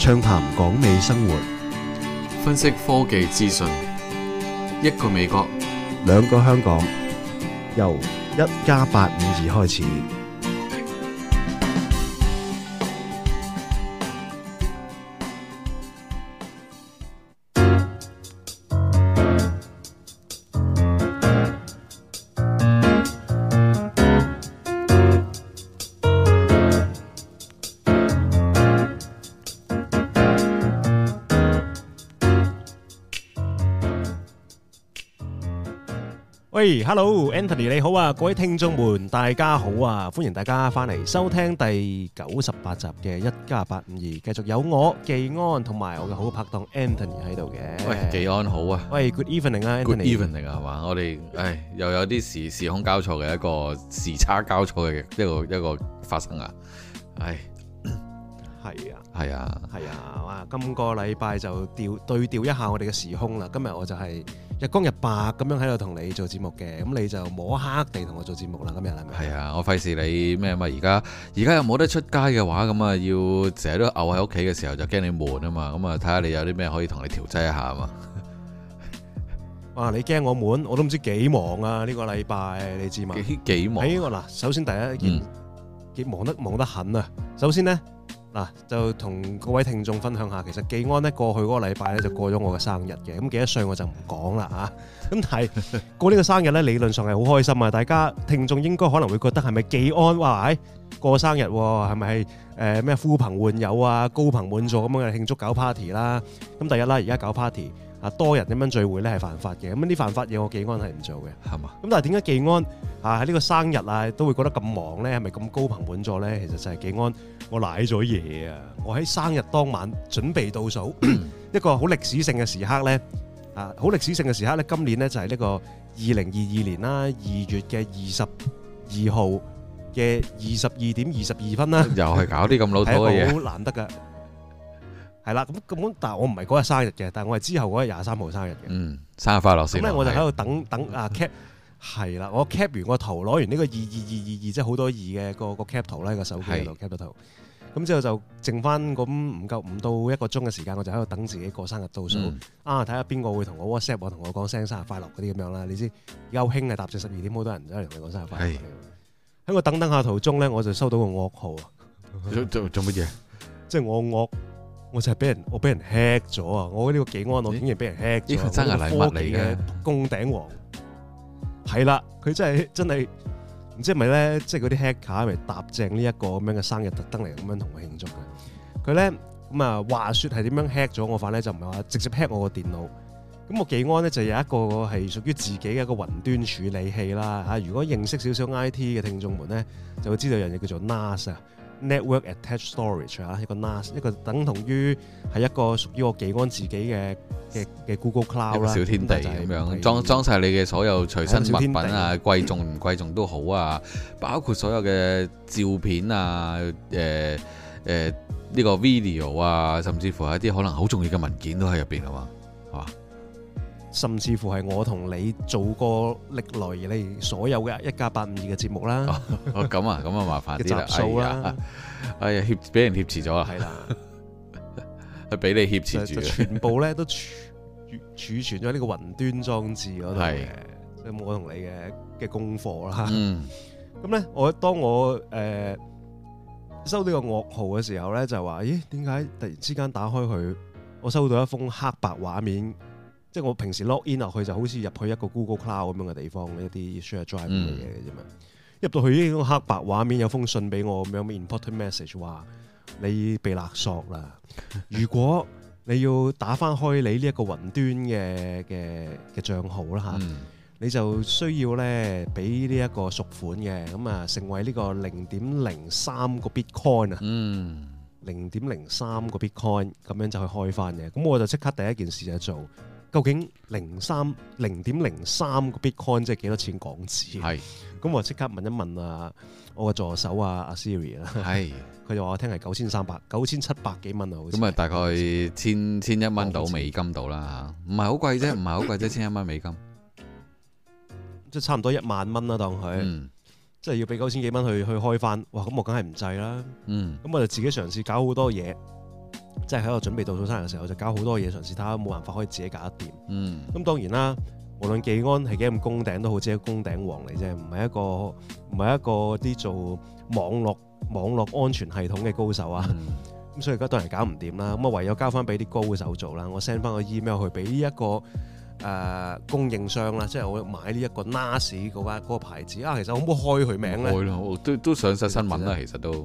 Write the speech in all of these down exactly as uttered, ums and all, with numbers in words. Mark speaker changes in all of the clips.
Speaker 1: 暢談港美生活，
Speaker 2: 分析科技資訊，一個美國，
Speaker 1: 兩個香港，由一加八五二開始。喂 ，Hello Anthony 你好啊，各位聽眾們大家好啊，歡迎大家翻嚟收聽第九十八集嘅一加八五二，繼續有我技安同埋我嘅好拍檔 Anthony 喺度嘅。
Speaker 2: 喂，技安好啊。
Speaker 1: 喂 ，Good evening 啊
Speaker 2: ，Good
Speaker 1: Anthony。
Speaker 2: evening 啊，係嘛？我哋唉又有啲時時空交錯嘅一個時差交錯嘅一個一個發生啊，唉。
Speaker 1: 係啊，
Speaker 2: 係啊，
Speaker 1: 係啊，哇！今個禮拜就調對調一下我哋嘅時空啦。今日我就係日光日白咁樣喺度同你做節目嘅，咁你就摸黑地同我做節目啦。今日係咪？
Speaker 2: 係啊，我費事你咩嘛？而家而家又冇得出街嘅話，咁啊要成日都漚喺屋企嘅時候就驚你悶啊嘛。咁啊睇下你有啲咩可以同你調劑一下啊嘛。
Speaker 1: 哇！你驚我悶，我都唔知幾忙啊！呢個禮拜你知嘛？
Speaker 2: 幾幾忙？
Speaker 1: 喺我嗱，首先第一件幾忙得忙得很啊！首先呢。嗱，就同各位聽眾分享下，其實技安咧過去嗰個禮拜咧就過咗我嘅生日嘅，咁幾多歲我就唔講啦嚇。咁但係過呢個生日咧，理論上係好開心啊！大家聽眾應該可能會覺得係咪技安哇？誒過生日喎，係咪係誒咩呼朋喚友啊、高朋滿座咁樣嘅慶祝搞 party 啦？咁第一啦，而家搞 party 啊，多人咁樣聚會咧係犯法嘅，咁啲犯法嘢我技安係唔做嘅，係嘛？咁但係點解技安啊喺呢個生日啊都會覺得咁忙咧？係咪咁高朋滿座咧？其實就係技安。我賴咗嘢啊！我喺生日當晚準備倒數一個好歷史性嘅時刻咧，啊，好歷史性嘅時刻咧，今年咧就係呢個二零二二年啦，二月嘅二十二號嘅二十二點二十二分啦，
Speaker 2: 又係搞啲咁老土嘅嘢，
Speaker 1: 好難得噶。係啦，咁咁，但係我唔係嗰日生日嘅，但係我係之後嗰日廿三號生日嘅。
Speaker 2: 嗯，生日快樂先。
Speaker 1: 咁咧我就喺度等等啊 cap。係啦，我 cap 完個圖，攞完呢個二二二二二，即係好多二嘅個個 cap 圖咧，個手機喺度 cap 咗圖。咁之後就剩翻咁唔夠唔到一個鐘嘅時間，我就喺度等自己過生日倒數。嗯、啊，睇下邊個會同我 WhatsApp 我同我講聲生日快樂嗰啲咁樣啦。你知而家好興嘅，搭正十二點好多人走嚟同你講生日快樂。喺我等等下途中咧，我就收到個噩耗啊！
Speaker 2: 做做乜嘢？
Speaker 1: 即係我噩，我就係俾人我俾人 hack 咗啊！我呢個技安我竟然俾人 hack 咗。呢個生日禮物嚟嘅，宮頂王。係啦，佢真係真係唔知係咪咧，即係嗰啲 hacker 咪搭正呢一個咁樣嘅生日，特登嚟咁樣同我慶祝嘅。佢咧咁啊，話説係點樣 hack 咗我法咧？就唔係話直接 hack 我個電腦。咁我技安咧就有一個係屬於自己嘅一個雲端處理器啦嚇。如果認識少少 I T 嘅聽眾們咧，就會知道有樣嘢叫做 N A S 啊。Network Attached Storage 啊，一個 N A S， 一個等同於係一個屬於我技安自己嘅嘅嘅 Google Cloud 啦，
Speaker 2: 小天地咁樣裝裝曬你嘅所有隨身物品啊，貴重唔貴重都好啊，包括所有嘅照片啊，誒誒呢個 video 啊，甚至乎係一啲可能好重要嘅文件都喺入邊啊嘛，係嘛？
Speaker 1: 甚至乎係我同你做過歷來以嚟所有嘅一加八五二嘅節目啦。
Speaker 2: 哦，咁啊，咁啊麻煩啲啦，
Speaker 1: 集數啦，
Speaker 2: 哎呀，挾俾人挾持咗啊，係啦，係俾你挾持住，
Speaker 1: 全部咧都儲儲存咗呢個雲端裝置嗰度嘅，即係我同你嘅嘅功課啦。嗯，咁咧，我當我誒、呃、收到個噩耗嘅時候咧，就話：咦，點解突然之間打開佢，我收到一封黑白畫面？即係我平時 log in 落去就好似入去一個 Google Cloud 咁樣嘅地方，一啲 share drive 嘅嘢嘅啫嘛。入到去呢個黑白畫面有封信俾我咁樣 important message 話你被勒索啦。如果你要打翻開你呢一個雲端嘅嘅嘅帳號啦嚇，嗯、你就需要咧俾呢一個贖款嘅，咁啊成為呢個零點零三個 Bitcoin 啊。嗯。零點零三個 Bitcoin 咁樣就去開翻嘅。咁我就即刻第一件事就做。究竟零三零點零三個 Bitcoin 即係幾多錢港紙？係，咁我即刻問一問啊，我個助手啊，阿 Siri 啦，係，佢就話我聽係九千三百、九千七百幾蚊啊，好似。咁啊，大概千千一蚊到美金到啦嚇，唔係好貴啫，唔係好貴啫，千一蚊美金，即係差唔多一萬蚊啦，當佢，嗯、即係要俾九千幾蚊去去開翻，哇！咁我梗係唔制啦，嗯，咁我就自己嘗試搞好多嘢。 即係喺我準備倒數生日嘅時候，就搞好多嘢嘗試睇下，冇辦法可以自己搞得掂。
Speaker 2: 嗯，
Speaker 1: 咁當然啦，無論技安係幾咁攻頂都好，只係攻頂王嚟啫，唔係一個唔係一個啲做網絡網絡安全系統嘅高手啊。咁、嗯、所以而家當然搞唔掂啦。咁啊唯有交翻俾啲高手做啦。我 send 翻個 email 去俾呢一個誒、呃、供應商啦，即係我買呢一個 N A S 嗰間嗰個牌子啊。其實可唔可以開佢名咧？開
Speaker 2: 咯，都都上晒新聞啦，其實都。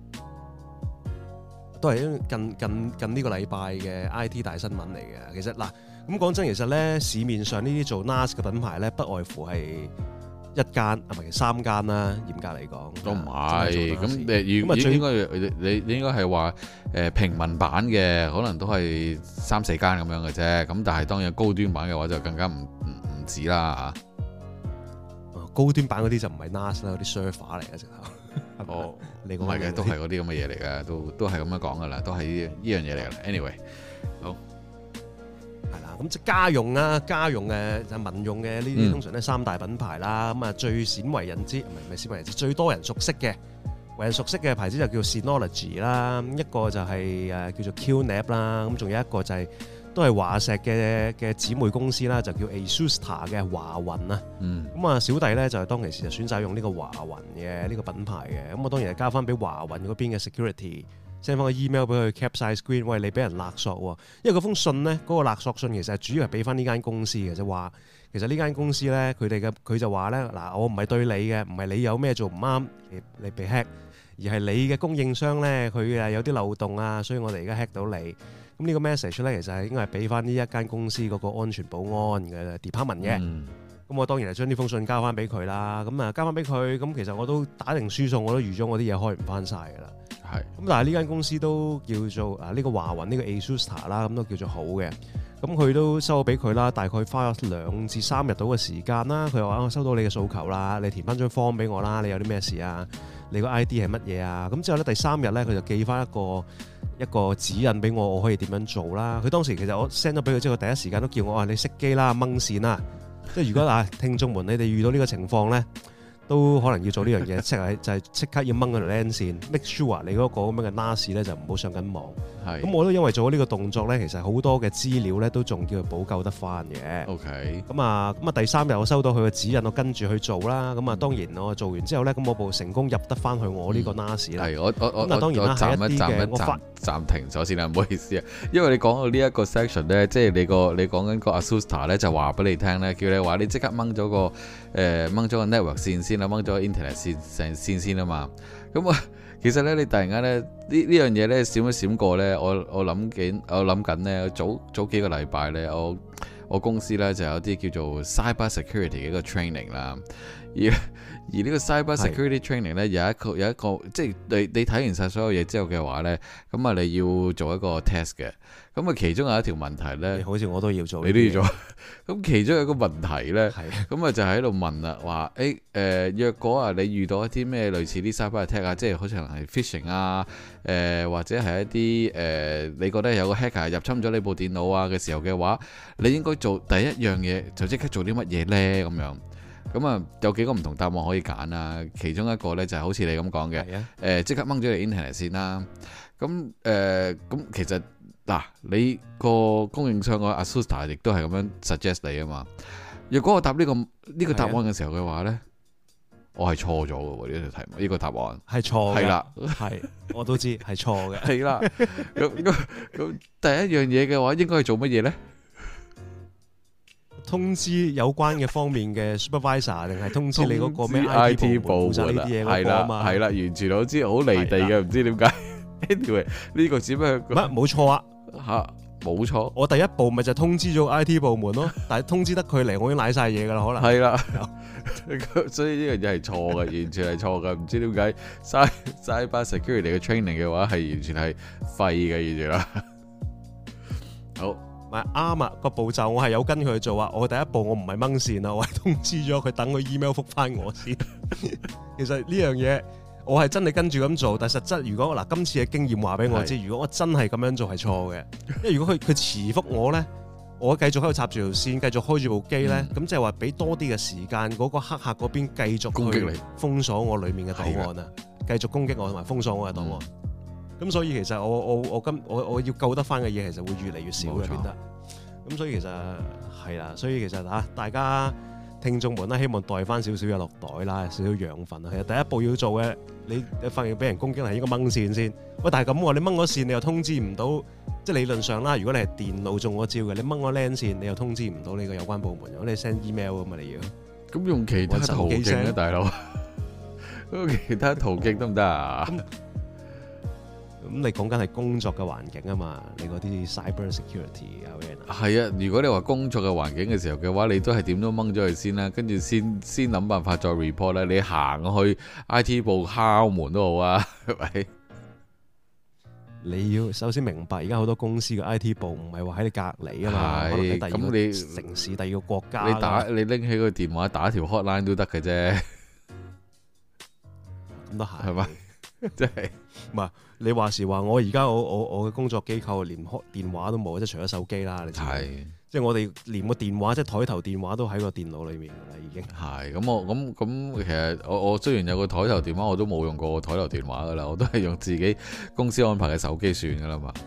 Speaker 1: 都係近近近呢個禮拜嘅 I T 大新聞嚟嘅。其實嗱，咁講真，其實咧市面上呢啲做 N A S 嘅品牌咧，不外乎係一間啊，唔係三間啦。嚴格嚟講，
Speaker 2: 都唔係。咁誒，如果應該你你應該係話誒平民版嘅，可能都係三四間咁樣嘅啫。咁但係當然高端版嘅話就更加唔唔唔止啦嚇。
Speaker 1: 高端版嗰啲就唔係 N A S 啦，嗰啲 server 嚟嘅直頭。
Speaker 2: 哦，你唔係嘅，都係嗰啲咁嘅嘢嚟嘅，都都係咁樣講噶啦，都係呢呢樣嘢嚟嘅。Anyway，好
Speaker 1: 係啦，咁即係家用啊，家用嘅就民用嘅呢啲，通常都係三大品牌啦。咁啊、嗯，最鮮為人知，唔係唔係鮮為人知，最多人熟悉嘅，為人熟悉嘅牌子就叫 Synology 啦，一個就係誒叫做 Q N A P 啦，咁仲有一個就係、是。都係華碩嘅嘅姊妹公司啦，就叫 ASUSTA 嘅華雲啊。咁啊、嗯，小弟咧就係當其時就選擇用呢個華雲嘅呢個品牌嘅。咁我當然係交翻俾華雲嗰邊嘅 security，send 翻個 email 俾佢 cap 晒 screen，喂，你俾人勒索喎。因為嗰封信呢，嗰、嗰個勒索信其實係主要係俾翻呢間公司嘅，就話其實呢間公司咧，佢哋嘅佢就話咧嗱，我唔係對你嘅，唔係你有咩做唔啱，你你被 hack，而係你嘅供應商咧，佢誒有啲漏洞啊，所以我哋而家 hack 到你。咁呢個 message 咧，其實係應該係俾翻呢一間公司嗰個安全保安嘅 department 嘅。咁、嗯、我當然係將呢封信交翻俾佢啦。咁啊交翻俾佢，咁其實我都打定輸數，我都預咗我啲嘢開唔翻晒㗎啦。係是。咁但係呢間公司都叫做啊呢、呢個華雲呢、呢個 ASUSTA 啦，咁都叫做好嘅。咁佢都收咗俾佢啦，大概花咗兩至三日到嘅時間啦。佢話我收到你嘅訴求啦，你填翻張 form 俾我啦。你有啲咩事啊？你個 I D 係乜嘢啊？咁之後咧第三日咧，佢就寄翻一個一個指引俾我，我可以點樣做啦？佢當時其實我 send 咗俾佢之後，第一時間都叫我話你熄機啦，掹線啦。即係如果啊聽眾們你哋遇到呢個情況咧，都可能要做呢樣嘢，即係就係即刻要掹嗰條 LAN 線 ，make sure 你嗰個咁樣嘅 N A S 咧就唔好上緊網。係。咁我都因為做咗呢個動作咧，其實好多嘅資料咧都仲叫佢補救得翻嘅。OK。咁啊咁啊第三日我收到佢嘅指引，我跟住去做啦。咁啊當然我做完之後咧，咁我部成功入得翻去我呢個 N A S 啦。係我我我我我暫一暫一暫暫停咗先啦，唔好意思啊。因為你講到呢一個 section 咧，即係你個你講緊個 ASUSTA 咧，就話俾你聽咧，叫你話你即刻掹咗個誒掹咗個 network 線先啦，掹咗個 internet 線成線先啊嘛。咁啊，其實咧你突然間咧呢呢樣嘢咧閃一閃過咧，我我諗緊我諗緊咧早早幾個禮拜咧，我我公司咧就有啲叫做 cyber security 嘅一個 training 啦，而而呢個 cyber security training 咧有一個有一個即係你你睇完晒所有嘢之後嘅話咧，咁啊你要做一個 test 嘅，咁啊其中有一條問題咧，好似我都要做，你都要做。咁其中有一個問題咧，咁啊就喺度問啦，話誒誒若果啊你遇到一啲咩類似啲 cyber attack 啊，即係好似可能係 phishing 啊，誒、呃、或者係一啲誒、呃、你覺得有個 hacker 入侵咗你部電腦啊嘅時候嘅話，你應該做第一樣嘢就即刻做啲乜嘢咧？咁樣咁啊有幾個唔同答案可以揀啊，其中一個咧就係好似你咁講嘅，誒即刻掹咗你 internet 先啦。咁誒咁其實嗱、啊，你個供應商個 ASUSTA 亦都係咁樣 suggest 你啊嘛。若果我答呢、這個呢、這個答案嘅時候嘅話咧，的我係錯咗嘅喎，呢條題目呢、這個答案係錯嘅，係啦的，係我都知係錯嘅，係啦。咁咁咁第一樣嘢嘅話，應該係做乜嘢咧？通知有關嘅方面嘅 supervisor， 定係通知你嗰個咩 I T 部門呢啲嘢嗰個啊嘛？係啦，完全我知好離地嘅，唔知點解。Anyway，呢個只不過乜冇錯啊嚇，冇錯。我第一步咪就通知咗 I T 部門咯，但係通知得佢嚟，我已經賴晒嘢噶啦，可能係啦。所以呢樣嘢係錯嘅，完全係錯嘅。唔知點解 cyber security 嘅 training 嘅話係完全係廢嘅，完全啦。好。咪啱啊！個步驟我係有跟佢去做啊！我第一步我唔係掹線啊，我係通知咗佢等佢 email 覆翻我先。其實呢樣嘢我係真係跟住咁做，但係實質如果嗱今次嘅經驗話俾我知，是如果我真係咁樣做係錯嘅，因為如果佢佢遲覆我咧，我繼續喺度插住條線，繼續開住部機咧，咁即係話俾多啲嘅時間嗰個黑客嗰邊繼續去封鎖我裡面嘅檔案啊，繼續攻擊我同埋封鎖我嘅檔案。咁咁所以其實我我我今我我要救得翻嘅嘢其實會越嚟越少嘅變得。咁所以其實係啦，所以其實嚇大家聽眾們啦，希望帶翻少少嘢落袋啦，少少養分啊。其實第一步要做嘅，你你發現俾人攻擊係應該掹線先。喂，但係咁喎，你掹咗線你又通知唔到，即係理論上啦。如果你係電腦中咗招嘅，你掹咗 LAN 線你又通知唔到你個有關部門，如果你 send email 咁嘛你要。
Speaker 2: 咁用其他途徑咧，大佬。用其他途徑得唔得啊？
Speaker 1: 咁你講緊係工作嘅環境啊嘛，你嗰啲 cyber security 啊，
Speaker 2: 係啊。如果你話工作嘅環境嘅時候嘅話，你都係點都掹咗佢先啦，跟住先先諗辦法再 report 啦。你行去 I T 部敲門都好啊，係咪？你
Speaker 1: 要首先明白，而家好多公司嘅 I T 部唔係話喺你隔離啊嘛，可能喺第二個城市、第二個國家。
Speaker 2: 你打你拎起個電話打條 hotline 都得嘅啫，
Speaker 1: 咁都係
Speaker 2: 係咪？即係
Speaker 1: 唔係你話時話，我而家我我我嘅工作機構連開電話都冇，即係除咗手機啦。你知係即係我哋連個電話，即係枱頭電話都喺個電腦裏面㗎啦，已經
Speaker 2: 係咁。我咁咁其實我我雖然有個枱頭電話，我都冇用過個枱頭電話㗎啦，我都係用自己公司安排嘅手機算㗎啦嘛。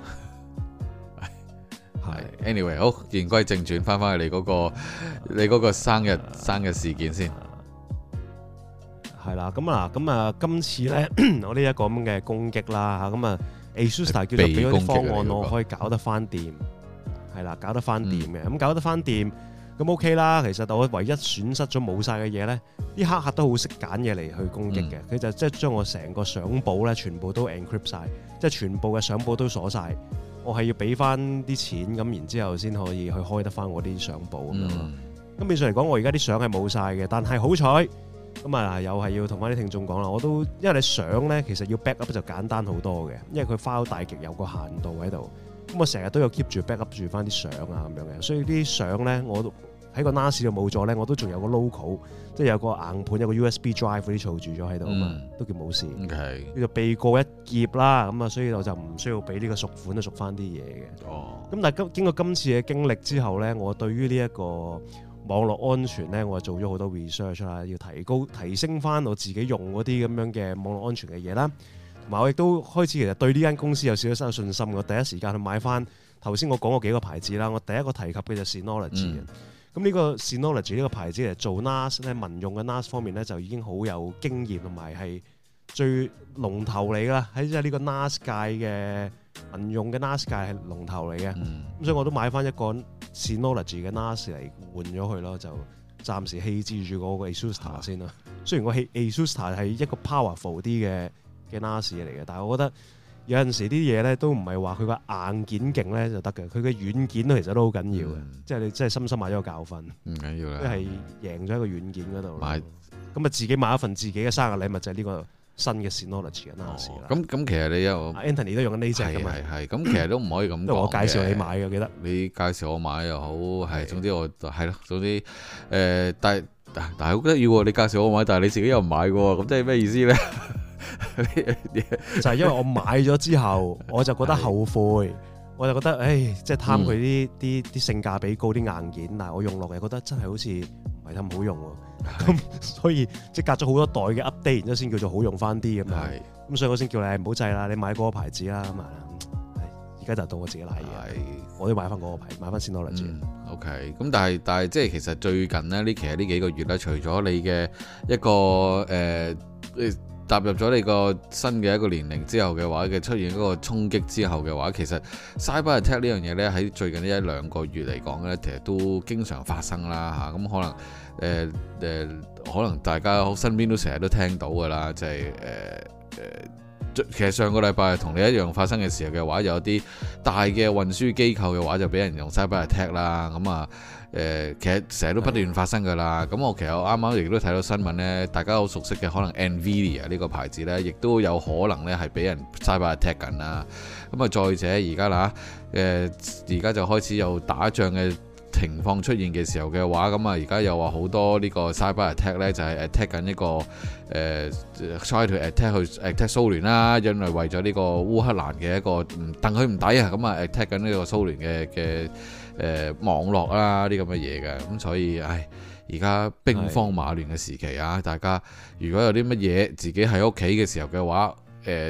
Speaker 2: 係 anyway 好，言歸正傳，翻返去你嗰個你嗰個生日生日事件先。
Speaker 1: 係啦，咁啊，咁啊，今次咧，我呢一個咁嘅攻擊啦嚇，咁啊 ，ASUS 叫做俾咗啲方案我可以搞得翻掂，係啦，搞得翻掂嘅，咁、嗯、搞得翻掂，咁 OK 啦。其實我唯一損失咗冇晒嘅嘢咧，啲黑客都好識揀嘢嚟去攻擊嘅，佢、嗯、就即係將我成個相簿咧全部都 encrypt 晒，即係全部嘅相簿都鎖晒。我係要俾翻啲錢咁，然之後先可以去開得翻我啲相簿咁樣咯。咁變相嚟講，我而家啲相係冇晒嘅，但係好彩。咁啊，又係要同翻啲聽眾講啦，我都因為你相咧，其實要 back up 就簡單好多嘅，因為佢 file 大極有個限度喺度。咁我成日都有 keep 住 back up 住翻啲相啊咁樣嘅，所以啲相咧，我都喺個 N A S 度冇咗咧，我都仲有個 local，即係有個硬盤，有個 U S B drive 嗰啲儲住咗喺度啊嘛，都叫冇事。Okay. 叫做避過一劫啦，咁啊，所以我就唔需要俾呢個贖款都贖翻啲嘢嘅。哦。咁但係經經過今次嘅經歷之後咧，我對於呢一個網絡安全咧，我做咗好多 research 啦，要提高提升翻我自己用嗰啲咁樣嘅網絡安全嘅嘢啦。同埋我亦都開始其實對呢間公司有少少信心。我第一時間去買翻頭先我講過幾個牌子啦。我第一個提及嘅就係 Synology 嘅。咁呢個 Synology 呢個牌子嚟做 N A S 咧，民用嘅 N A S 方面咧就已經好有經驗同埋係最龍頭嚟啦。喺即係呢個 N A S 界嘅民用嘅 N A S 界係龍頭嚟嘅。咁、嗯、所以我都買翻一個 Synology 嘅 N A S 嚟換咗佢咯，就暫時棄置住嗰個 ASUS 先啦。雖然個 ASUS 係一個 powerful 啲嘅嘅 N A S 嚟嘅，但係我覺得有陣時啲嘢咧都唔係話佢個硬件勁咧就得嘅，佢嘅軟件都其實都好緊要嘅、嗯。即係你真係深深買咗個教訓，唔緊要啦，即係贏咗喺個軟件嗰度。買咁啊，自己買一份自己嘅生日禮物就係呢個新嘅 Synology 嘅 N A S 啦。咁、哦、咁其實你有 Anthony 都用緊呢隻㗎嘛？係係咁，其實都唔可以咁講。我介紹你買嘅，記得你介紹我買又好，係總之我係咯，總之誒、呃，但係但係好得意喎！你介紹我買，但係你自己又唔買嘅喎，咁即係咩意思咧？就係因為我買咗之後，我就覺得後悔，我就覺得，誒，即係貪佢啲啲啲性價比高啲硬件，但係我用落嚟覺得真係好似唔係咁好用喎。咁所以即係隔咗好多代嘅 update，然之後先叫做好用翻啲咁樣。咁所以我先叫你唔好制啦，你買嗰個牌子啦。咁啊，而家就到我自己瀨嘢，我都買翻嗰個牌，買翻 Synology。嗯，OK。咁但係但係即係其實最近呢，呢其實呢幾個月咧，除咗你嘅一個誒。呃踏入咗你個新嘅一個年齡之後嘅話嘅出現嗰個衝擊之後嘅話，其實 cyber attack 呢樣嘢呢，喺最近呢一兩個月嚟講呢，其實都經常發生啦嚇。咁可能誒誒、呃呃，可能大家身邊都成日都聽到㗎啦，就係誒誒，其實上個禮拜同你一樣發生嘅時候嘅話，有啲大嘅運輸機構嘅話就俾人用 cyber attack 啦，咁啊。誒，其實成日都不斷發生㗎啦。咁我其實我啱啱亦都睇到新聞呢，大家好熟悉嘅可能 Nvidia 呢個牌子呢，亦都有可能呢係俾人 cyber attack 緊啦。咁啊，再者而家啦，誒而家就開始有打仗嘅情況出現嘅時候嘅話，咁啊而家又話好多呢個 cyber attack 呢，就係 attack 緊一個誒、呃、try to attack 去 attack 蘇聯啦，因為為咗呢個烏克蘭嘅一個唔戥佢唔抵啊，咁啊 attack 緊呢個蘇聯嘅嘅。誒、呃、網絡啦啲咁嘅嘢嘅，咁所以唉，而家兵荒馬亂嘅時期啊，大家如果有啲乜嘢自己喺屋企嘅時候嘅話，誒、呃、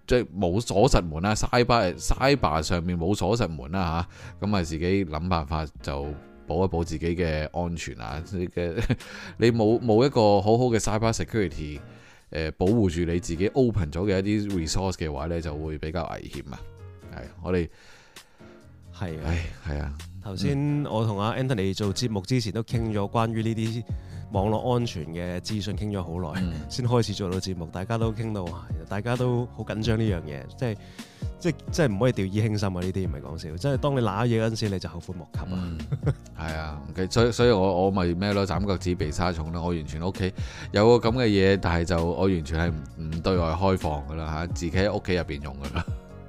Speaker 2: 即係冇鎖實門啦，Cyber Cyber 上面冇鎖實門啦嚇，咁啊自己諗辦法就保一保自己嘅安全啊！你嘅你冇冇一個好好嘅 Cyber Security 誒、呃、保護住你自己 open 咗嘅一啲 resource 嘅話咧，就會比較危險啊！係我哋
Speaker 1: 係啊，
Speaker 2: 係啊，
Speaker 1: 頭先我同阿 Anthony 做節目之前都傾咗關於呢啲網絡安全嘅資訊，傾咗好耐先開始做到節目，大家都傾到，大家都好緊張呢樣嘢，即係即係即係唔可以掉以輕心啊！呢啲唔係講笑，即係當你揦嘢嗰陣時，你就後悔莫及啊！
Speaker 2: 係、嗯、啊，所以所以我我咪咩咯，斬腳趾避沙蟲咯，我完全屋企有個咁嘅嘢，但係就我完全係唔唔對外開放噶啦嚇，自己喺屋企入邊用噶啦。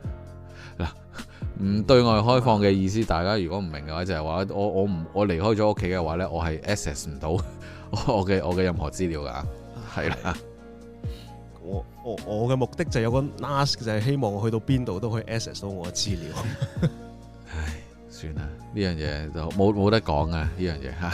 Speaker 2: 嗱，唔對外開放嘅意思，大家如果唔明嘅話，就係、是、話我我唔我離開咗屋企嘅話咧，我係 access 唔到我嘅我嘅任何資料噶，係啦。
Speaker 1: 我我我嘅目的就有個 N A S， 就係希望我去到邊度都可以 access 到我嘅資料。
Speaker 2: 唉，算啦，呢樣嘢就冇冇得講啊！呢樣嘢嚇，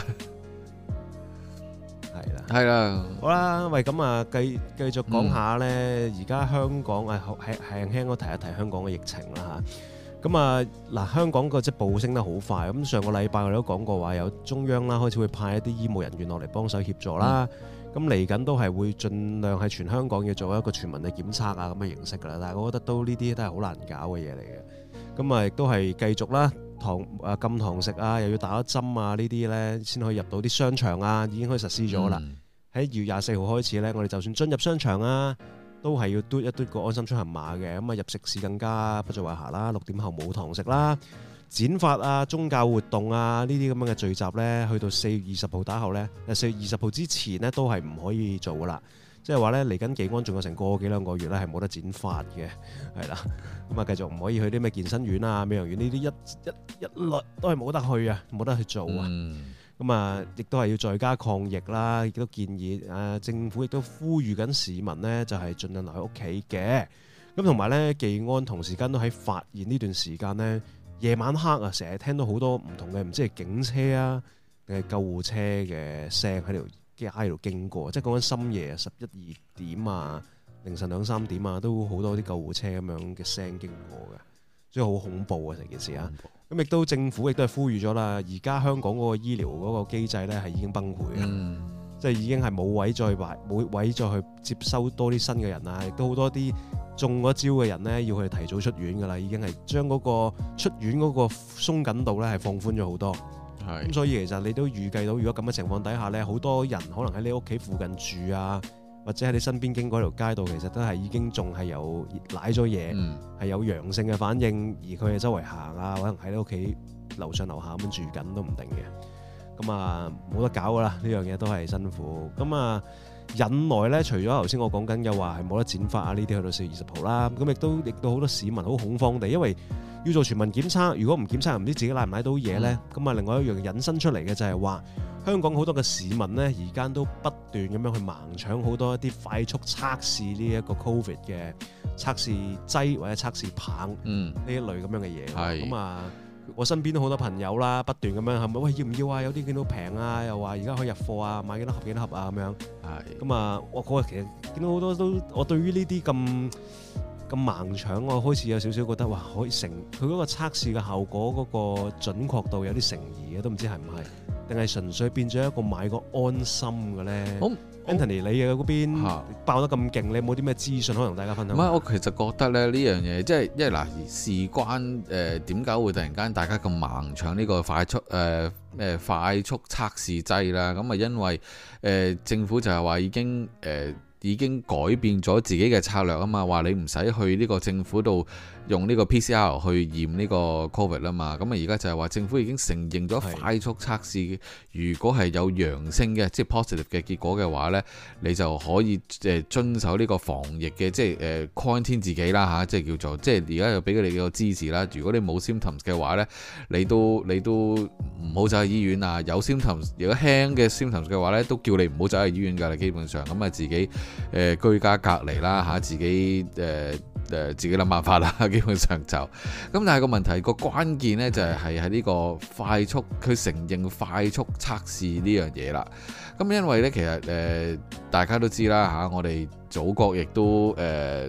Speaker 1: 係啦，
Speaker 2: 係啦，
Speaker 1: 好啦，喂，咁啊，繼繼續講下咧，而家、嗯、香港啊，係係輕輕我提一提香港嘅疫情啦嚇。咁啊，嗱，香港個即係暴升得好快。咁上個禮拜我哋都講過話，有中央啦開始會派一啲醫務人員落嚟幫手協助啦。咁嚟緊都係會盡量係全香港要做一個全民嘅檢測啊咁嘅形式㗎啦。但係我覺得都呢啲都係好難搞嘅嘢嚟嘅。咁啊，亦都係繼續啦，堂啊禁堂食啊，又要打一針啊，呢啲咧先可以入到啲商場啊，已經可以實施咗啦。喺二月廿四號開始咧，我哋就算進入商場啊，都係要嘟一嘟個安心出行碼嘅。咁啊，入食肆更加不在話下啦。六點後冇堂食啦。剪髮啊、宗教活動啊呢啲咁樣嘅聚集呢，去到四月二十號打後呢，四月二十號之前呢都係唔可以做噶啦。即係話呢，嚟緊技安仲有成個幾兩個月呢係冇得剪髮嘅，係啦。咁啊，繼續唔可以去啲咩健身院啊、美容院呢啲一一一律都係冇得去啊，冇得去做啊。咁啊、嗯，亦都係要在家抗疫啦，亦都建議誒、呃、政府亦都呼籲緊市民呢，就係、是、盡量留喺屋企嘅。咁同埋呢，技安同時間都喺發現呢段時間呢。夜晚黑啊，成日聽到好多唔同嘅，唔知係警車啊定係救護車嘅聲喺條街度經過，即係講緊深夜十一二點啊、凌晨兩三點啊，都好多啲救護車咁樣嘅聲經過嘅，所以好恐怖啊成件事啊！咁亦都政府亦都係呼籲咗啦，而家香港嗰個醫療嗰個機制咧係已經崩潰嘅，嗯、即係已經係冇位再擺冇位再去接收多啲新嘅人啊，亦都好多啲中咗招嘅人呢，要佢哋提早出院噶啦，已經係將嗰個出院嗰個鬆緊度呢係放寬咗好多。咁是、嗯、所以其實你都預計到，如果咁嘅情況底下呢，好多人可能喺你屋企附近住啊，或者喺你身邊經過條街道，其實都係已經仲係有舐咗嘢，係、嗯、有陽性嘅反應，而佢哋周圍行啊，可能喺你屋企樓上樓下咁樣住緊都唔定嘅。咁啊冇得搞噶啦，呢樣嘢都係辛苦。咁啊〜引來咧，除咗頭先我講緊嘅話係冇得剪髮啊呢啲，去到四月二十號啦，咁亦都亦都好多市民好恐慌地，因為要做全民檢測，如果唔檢測又唔知自己拉唔拉到嘢咧，咁啊、嗯、另外一樣引申出嚟嘅就係話，香港好多嘅市民咧，而家都不斷咁樣去盲搶好多一啲快速測試呢一個 Covid 嘅測試劑或者測試棒呢、嗯、一類咁樣嘅嘢，咁是啊。我身邊都好多朋友啦，不斷咁樣係咪喂要唔要啊？有啲見到平啊，又話而家可以入貨啊，買幾多盒幾多盒啊咁樣。係咁啊，我嗰日其實見到好多都，我對於呢啲咁咁盲搶，我開始有少少覺得哇，可以成佢嗰個測試嘅效果嗰個準確度有啲成疑嘅，都唔知係唔係，定係純粹變咗一個買個安心嘅咧？好，Anthony，你嘅嗰邊爆得咁勁，你有冇啲咩資訊可以同大家分享？唔係，
Speaker 2: 我其實覺得咧呢樣嘢，即係因為嗱，事關誒點解會突然間大家咁盲搶呢個快速誒誒、呃、快速測試劑啦？咁啊，因為誒、呃、政府就係話已經誒。呃已經改變咗自己嘅策略啊嘛，話你唔使去呢個政府度用呢個 P C R 去驗呢個 Covid 啦嘛，咁啊而家就係話政府已經承認咗快速測試，如果係有陽性嘅，即係 positive 嘅結果嘅話呢，你就可以誒遵守呢個防疫嘅，即係誒 quarantine 自己啦嚇，即係叫做即係而家又俾佢哋個支持啦。如果你冇 symptoms 嘅話呢，你都你都唔好走去醫院啊。有 symptoms 如果輕嘅 symptoms 嘅話呢，都叫你唔好走去醫院㗎啦。基本上咁啊自己。誒、呃、居家隔離啦嚇，自己誒誒、呃、自己諗辦法啦，基本上就咁。但係個問題個關鍵呢，就係係喺呢個快速，佢承認快速測試呢樣嘢啦。咁因為呢，其實誒、呃、大家都知啦嚇，我哋祖國亦都誒好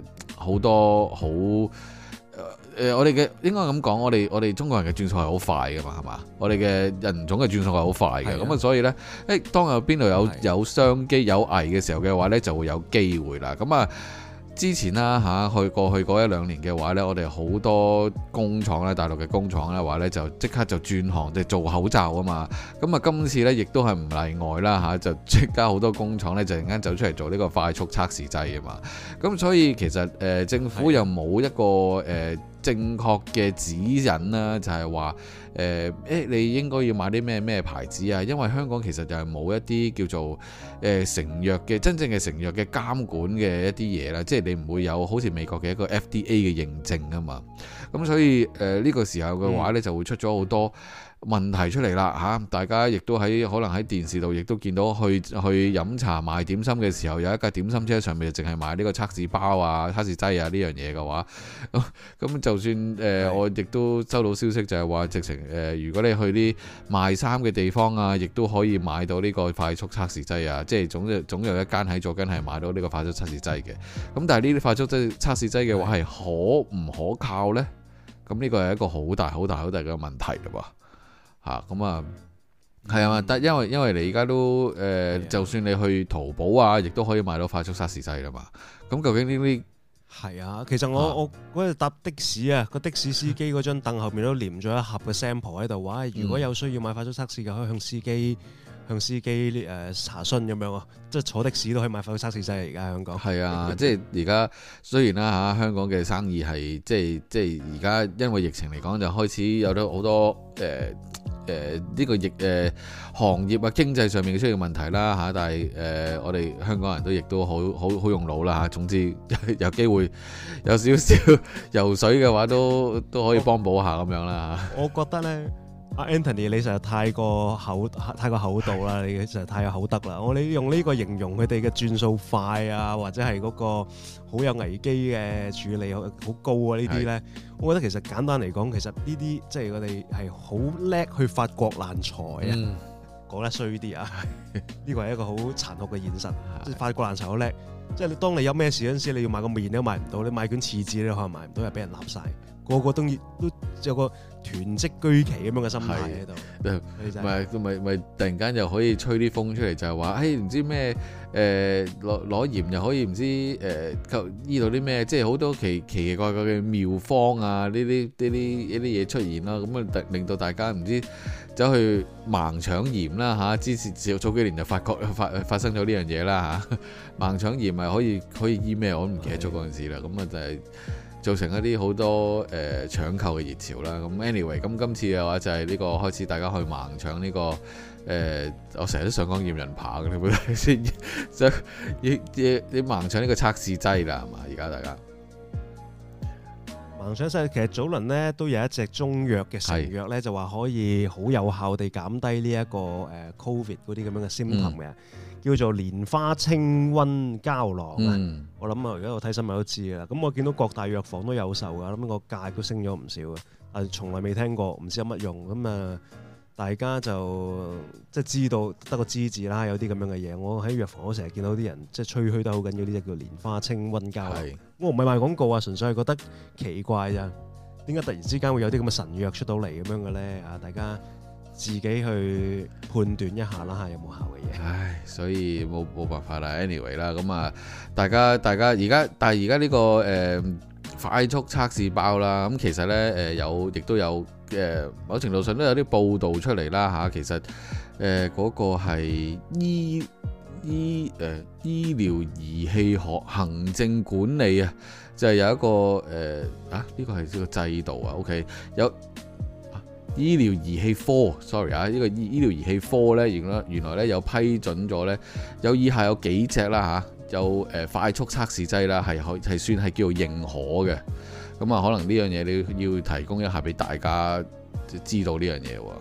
Speaker 2: 好多好誒、呃，我哋嘅應該咁講，我哋我哋中國人嘅轉數係好快㗎嘛，係嘛？我哋嘅人種嘅轉數係好快嘅，咁啊的，所以呢，誒，當有邊度有有商機有危嘅時候嘅話呢，就會有機會啦。咁啊〜之前啦嚇，去過去嗰一兩年嘅話呢，我哋好多工廠咧，大陸嘅工廠咧話呢，就即刻就轉行，即係做口罩啊嘛。咁啊，今次呢，亦都係唔例外啦嚇，就即刻好多工廠呢，就突然間走出嚟做呢個快速測試劑啊嘛。咁所以其實誒、呃、政府又冇一個誒、呃、正確嘅指引啦，就係話誒誒你應該要買啲咩咩牌子啊？因為香港其實就係冇一啲叫做誒、呃、成藥嘅真正嘅成藥嘅監管嘅一啲嘢啦，即係你唔會有好似美國嘅一個 F D A 嘅認證啊嘛。咁所以誒呢、呃這個時候嘅話呢，就會出咗好多問題出嚟啦嚇！大家亦都喺可能喺電視度亦都見到去去飲茶賣點心嘅時候，有一架點心車上面就淨係賣呢個測試包啊、測試劑啊呢樣嘢嘅話，咁、嗯、就算誒、呃、我亦都收到消息就係話直情誒、呃，如果你去啲賣衫嘅地方啊，亦都可以買到呢個快速測試劑啊，即係總有總有一間喺左近係買到呢個快速測試劑嘅。咁但係呢啲快速測測試劑嘅話係可唔可靠呢？咁呢個係一個好大好大好大嘅問題嘞喎！嚇咁啊，係啊嘛，但因為因為你而家都誒，呃、的就算你去淘寶啊，亦都可以買到快速測試劑啦嘛。咁究竟呢啲
Speaker 1: 係啊？其實我、啊、我嗰日搭的士啊，個的士司機嗰張凳後面都黏咗一盒嘅 sample 喺度，話如果有需要買快速測試嘅，可以向司機向司機誒、呃、查詢咁樣啊。即係坐的士都可以買快速測試劑嚟，而家香港係啊，即係而家雖然啦嚇，香港嘅生意係即係即係而家因為疫情嚟講就開始有咗好多誒。呃誒呢、呃這個疫誒、呃、行業啊經濟上面嘅出現問題啦嚇，但係誒、呃、我哋香港人都亦都好好好用腦啦嚇。總之有機會有少少游水嘅話，都都可以幫補下咁樣啦嚇。 我覺得咧，阿 Anthony 你實在太過厚太過厚道啦，你實在太有口德啦。我哋用呢個形容佢哋嘅轉數快啊，或者係嗰個好有危機嘅處理好高啊呢啲咧。我覺得其實簡單嚟講，其實呢啲即係我哋係好叻去發國難財啊！講、嗯、得衰啲啊，呢個係一個好殘酷嘅現實。即係發國難財好叻，即係你當你有咩事嗰陣時，你要買個麵你都買唔到，你買卷廁紙你可能買唔到，又俾人立晒。個個都都有個囤積居奇咁樣嘅心態喺度，唔係咪咪突然間又可以吹啲風出嚟，就係話誒唔知咩誒攞攞鹽又可以唔知誒醫到啲咩，即係好多奇奇奇怪怪嘅妙方啊！呢啲呢啲呢啲嘢出現啦，咁啊令到大家唔知走去盲搶鹽啦嚇。之前早幾年就發覺發發生咗呢樣嘢啦嚇，盲搶鹽咪可以可以醫咩？我都唔記得咗嗰陣時啦。咁啊就係造成一啲好多誒、呃、搶購嘅熱潮啦。咁 anyway，咁今次嘅話就係呢個開始大家去盲搶呢、呢個誒、呃，我成日都想講驗人扒嘅，你會先就要要要盲搶呢個測試劑啦，係嘛？而家大家盲搶劑，其實早輪呢都有一隻中藥嘅成藥咧，是就話可以好有效地減低呢一個誒 Covid 嗰啲咁樣嘅 symptom 嘅。嗯叫做蓮花清瘟膠囊啊！嗯、我諗啊，而家我睇新聞都知㗎啦。咁我見到各大藥房都有售㗎，咁個價都升咗唔少嘅。但係從來未聽過，唔知有乜用。咁啊，大家就即係知道得個知字啦。有啲咁樣嘅嘢，我喺藥房我成日見到啲人即係吹噓得好緊要，呢隻叫蓮花清瘟膠囊。是我唔係賣廣告啊，純粹係覺得奇怪咋。點解突然之間會有啲咁嘅神藥出到嚟咁樣嘅咧？啊，大家自己去判斷一下啦嚇，有冇效嘅嘢？唉，所以冇冇辦法啦。anyway 啦，咁啊，大家大家而家，但係而家呢個誒、呃、快速測試包啦，咁其實咧誒、呃、有，亦都有誒、呃、某程度上都有啲報道出嚟啦嚇。其實誒嗰、呃那個係醫醫誒、呃、醫療儀器學行政管理啊，就係、是、有一個誒、呃、啊呢、這個係呢個制度啊。OK 有。醫療儀器科 ，sorry 啊，呢個醫醫療儀器科咧，原來原來咧有批准咗咧，有以下有幾隻啦嚇，有誒快速測試劑啦，係可係算係叫做認可嘅。咁啊，可能呢樣嘢你要提供一下俾大家知道呢樣嘢喎。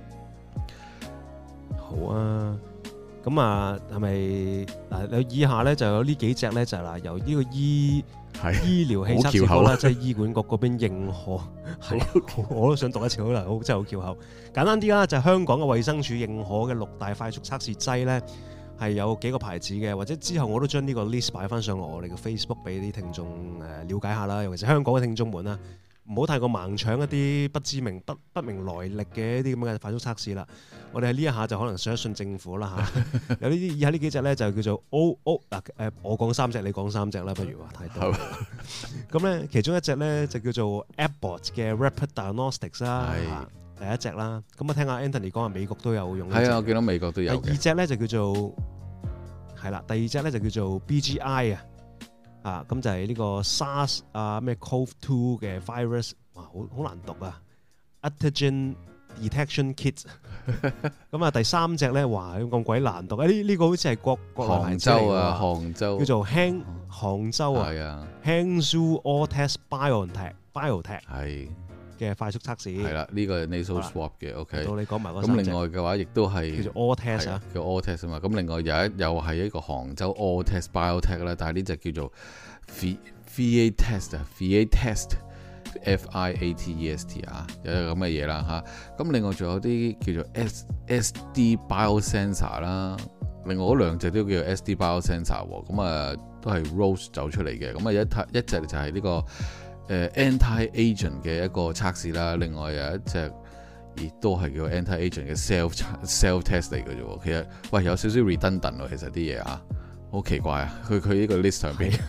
Speaker 1: 好啊，咁啊係咪嗱？有以下咧就有呢幾隻咧，就係嗱由呢個醫。係醫療器測試科啦，即係醫管局嗰邊認可，係我都想讀一次好啦，好真係好翹口。簡單啲啦，就係香港嘅衛生署認可嘅六大快速測試劑咧， 係有幾個牌子嘅，或者之後我都將呢個 list 擺翻上落我哋嘅 Facebook 俾啲聽眾誒了解下啦，尤其是香港嘅聽眾們啦，唔好太過盲搶一啲不知名不不明來歷嘅一啲咁嘅快速測試啦。我哋喺呢一下就可能信一信政府啦嚇。有呢啲以下呢幾隻咧就叫做 O O 嗱誒，我講三隻，你講三隻啦，不如話太多。咁咧其中一隻咧就叫做 Abbott 嘅 Rapid Diagnostics 啦。第一隻啦，咁啊聽下 Anthony 講下美國都有用。係
Speaker 2: 啊，我見到美國都有嘅。
Speaker 1: 第二隻咧就叫做係啦，第二隻咧就叫做 B G I 啊，啊咁就係呢個 SARS 啊咩 C O V 二嘅 virus， 哇好好難讀啊 Antigen Detection Kit。咁啊第三隻咧，哇咁鬼難讀啊！呢呢個好似係國國內牌子嚟㗎。杭州啊，杭州叫做 Hang 杭州啊，係啊 Hangzhou All-Test Biotech Biotech 係。嘅快速測試
Speaker 2: 係啦，呢個係 nasal swab 嘅 ，OK。
Speaker 1: 到你講埋嗰
Speaker 2: 咁另外嘅話，亦都係
Speaker 1: 叫做 all test 啊，
Speaker 2: 叫 all test 啊嘛。咁另外有一又係一個杭州 all test biotech 啦，但係呢隻叫做 Fiatest 啊 ，Fiatest F I A T E S T 啊，有咁嘅嘢啦嚇。咁另外仲有啲叫做 S S D biosensor 啦，另外嗰兩隻都叫 S D biosensor 喎。咁啊都係 Roche 走出嚟嘅。咁啊一一隻就係呢個。誒 anti-agent 嘅一個測試啦，另外有一隻亦都係叫 anti-agent 嘅 self self test 嚟嘅啫喎。其實喂有少少 redundant 喎，其實啲嘢啊好奇怪啊，佢佢呢個 list 上邊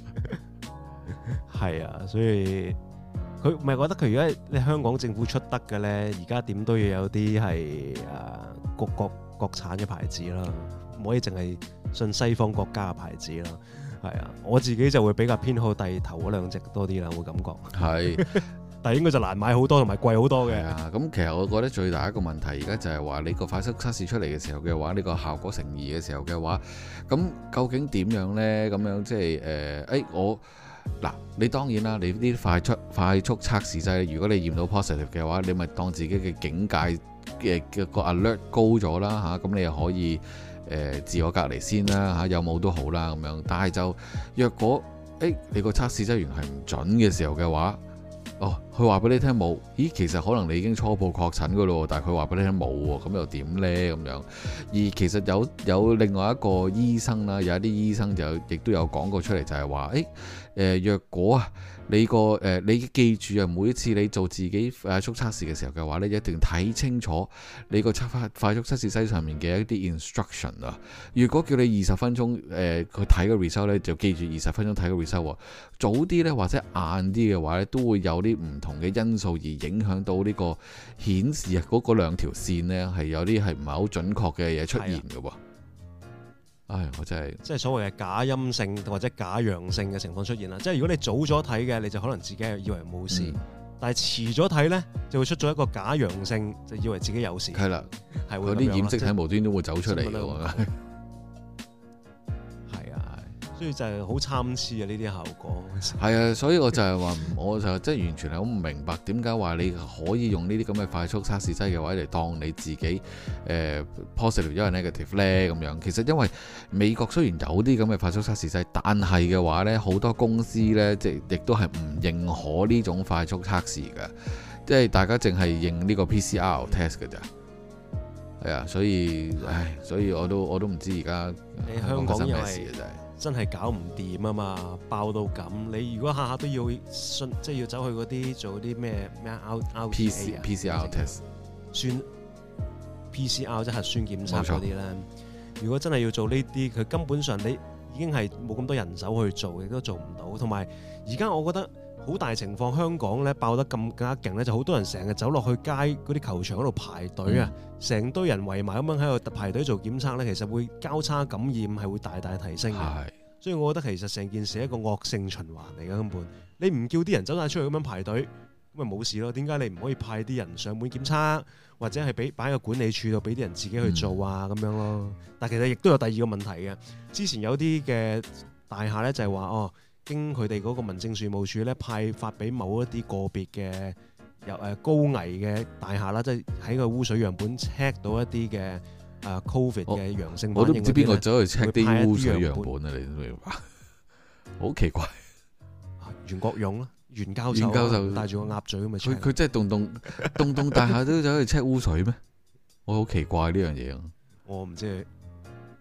Speaker 1: 係啊，所以佢唔係覺得佢而家你香港政府出得嘅咧，而家點都要有啲係誒國國國產嘅牌子啦，唔可以淨係信西方國家嘅牌子啦。係啊，我自己就會比較偏好第頭嗰兩隻多啲啦，會感覺係，但係應該就難買好多同埋貴好多嘅。
Speaker 2: 啊，咁其實我覺得最大一個問題而家就係話你個快速測試出嚟嘅時候嘅話，呢個效果成疑嘅時候嘅話，咁究竟點樣呢？咁樣即係誒，誒、呃、我嗱你當然啦，你呢啲快速快速測試劑，如果你驗到 positive 嘅話，你咪當自己嘅警戒嘅嘅個 alert 高咗啦嚇，咁、啊、你又可以。誒、呃、自我隔離先啦嚇，有冇都好啦咁樣。但係就若果誒、欸、你個測試劑源係唔準嘅時候嘅話，哦，佢話俾你聽冇，咦，其實可能你已經初步確診噶咯，但係佢話俾你聽冇喎，咁又點呢？咁樣？而其實有有另外一個醫生啦，有一啲醫生就亦都有講過出嚟，就係話誒誒，若果啊你個誒、呃、你記住啊，每一次你做自己快速測試嘅時候嘅話咧，你一定睇清楚你個測快快速測試劑上面嘅一啲 instruction 啊。如果叫你二十分鐘誒去睇個 result 咧，就記住二十分鐘睇個 result。早啲咧或者晏啲嘅話咧，都會有啲唔同嘅因素而影響到呢個顯示啊嗰嗰兩條線咧係有啲係唔係好準確嘅嘢出現嘅喎。唉，我真係
Speaker 1: 即係所謂嘅假陰性或者假陽性嘅情況出現啦。即係如果你早咗睇嘅，你就可能自己係以為冇事，嗯、但係遲咗睇咧，就會出咗一個假陽性，就以為自己有事。係啦，係會有啲
Speaker 2: 染色體無端都會走出嚟嘅喎。
Speaker 1: 所以就係好參差啊！呢啲效果
Speaker 2: 係啊，所以我就係話，我就真係完全係好唔明白點解話你可以用呢啲咁嘅快速測試劑嘅話嚟當你自己誒、呃、positive 因為 negative 咧咁樣。其實因為美國雖然有啲咁嘅快速測試劑，但係嘅話咧，好多公司咧即係亦都係唔認可呢種快速測試嘅，即係大家淨係認呢個 P C R test 嘅咋。係啊，所以唉，所以我都我都唔知而家
Speaker 1: 香港咩事嘅真係。真係搞唔掂啊嘛，爆到咁！你如果下下都要信，即係要走去嗰啲做啲咩咩 out out
Speaker 2: P C P C R test
Speaker 1: 酸 P C R 即係核酸檢測嗰啲咧。如果真係要做呢啲，佢根本上你已經係冇咁多人手去做，亦都做唔到。同埋而家我覺得好大情況，香港咧爆得咁更加勁咧，就好多人成日走落去街嗰啲球場嗰度排隊啊，成、嗯、堆人圍埋咁樣喺度排隊做檢測咧，其實會交叉感染係會大大提升嘅。所以我覺得其實成件事係一個惡性循環嚟嘅根本。你唔叫啲人走晒出去咁樣排隊，咁咪冇事咯。點解你唔可以派啲人上門檢測，或者係俾擺喺個管理處度俾啲人自己去做啊咁、嗯、樣咯？但其實亦都有第二個問題嘅。之前有啲嘅大廈咧就係話哦。經佢哋嗰個民政事務處咧派發俾某一啲個別嘅有誒高危嘅大廈啦，即係喺個污水樣本 check 到一啲嘅誒 Covid 嘅陽性反應。我都唔知邊個走去 check 啲污水樣本啊！你明白？好奇怪。袁國勇咯，袁教授，袁教授戴住個鴨嘴咁咪。佢佢真係棟棟棟棟大廈都走去 check 污水咩？我好奇怪呢樣嘢啊！我唔知。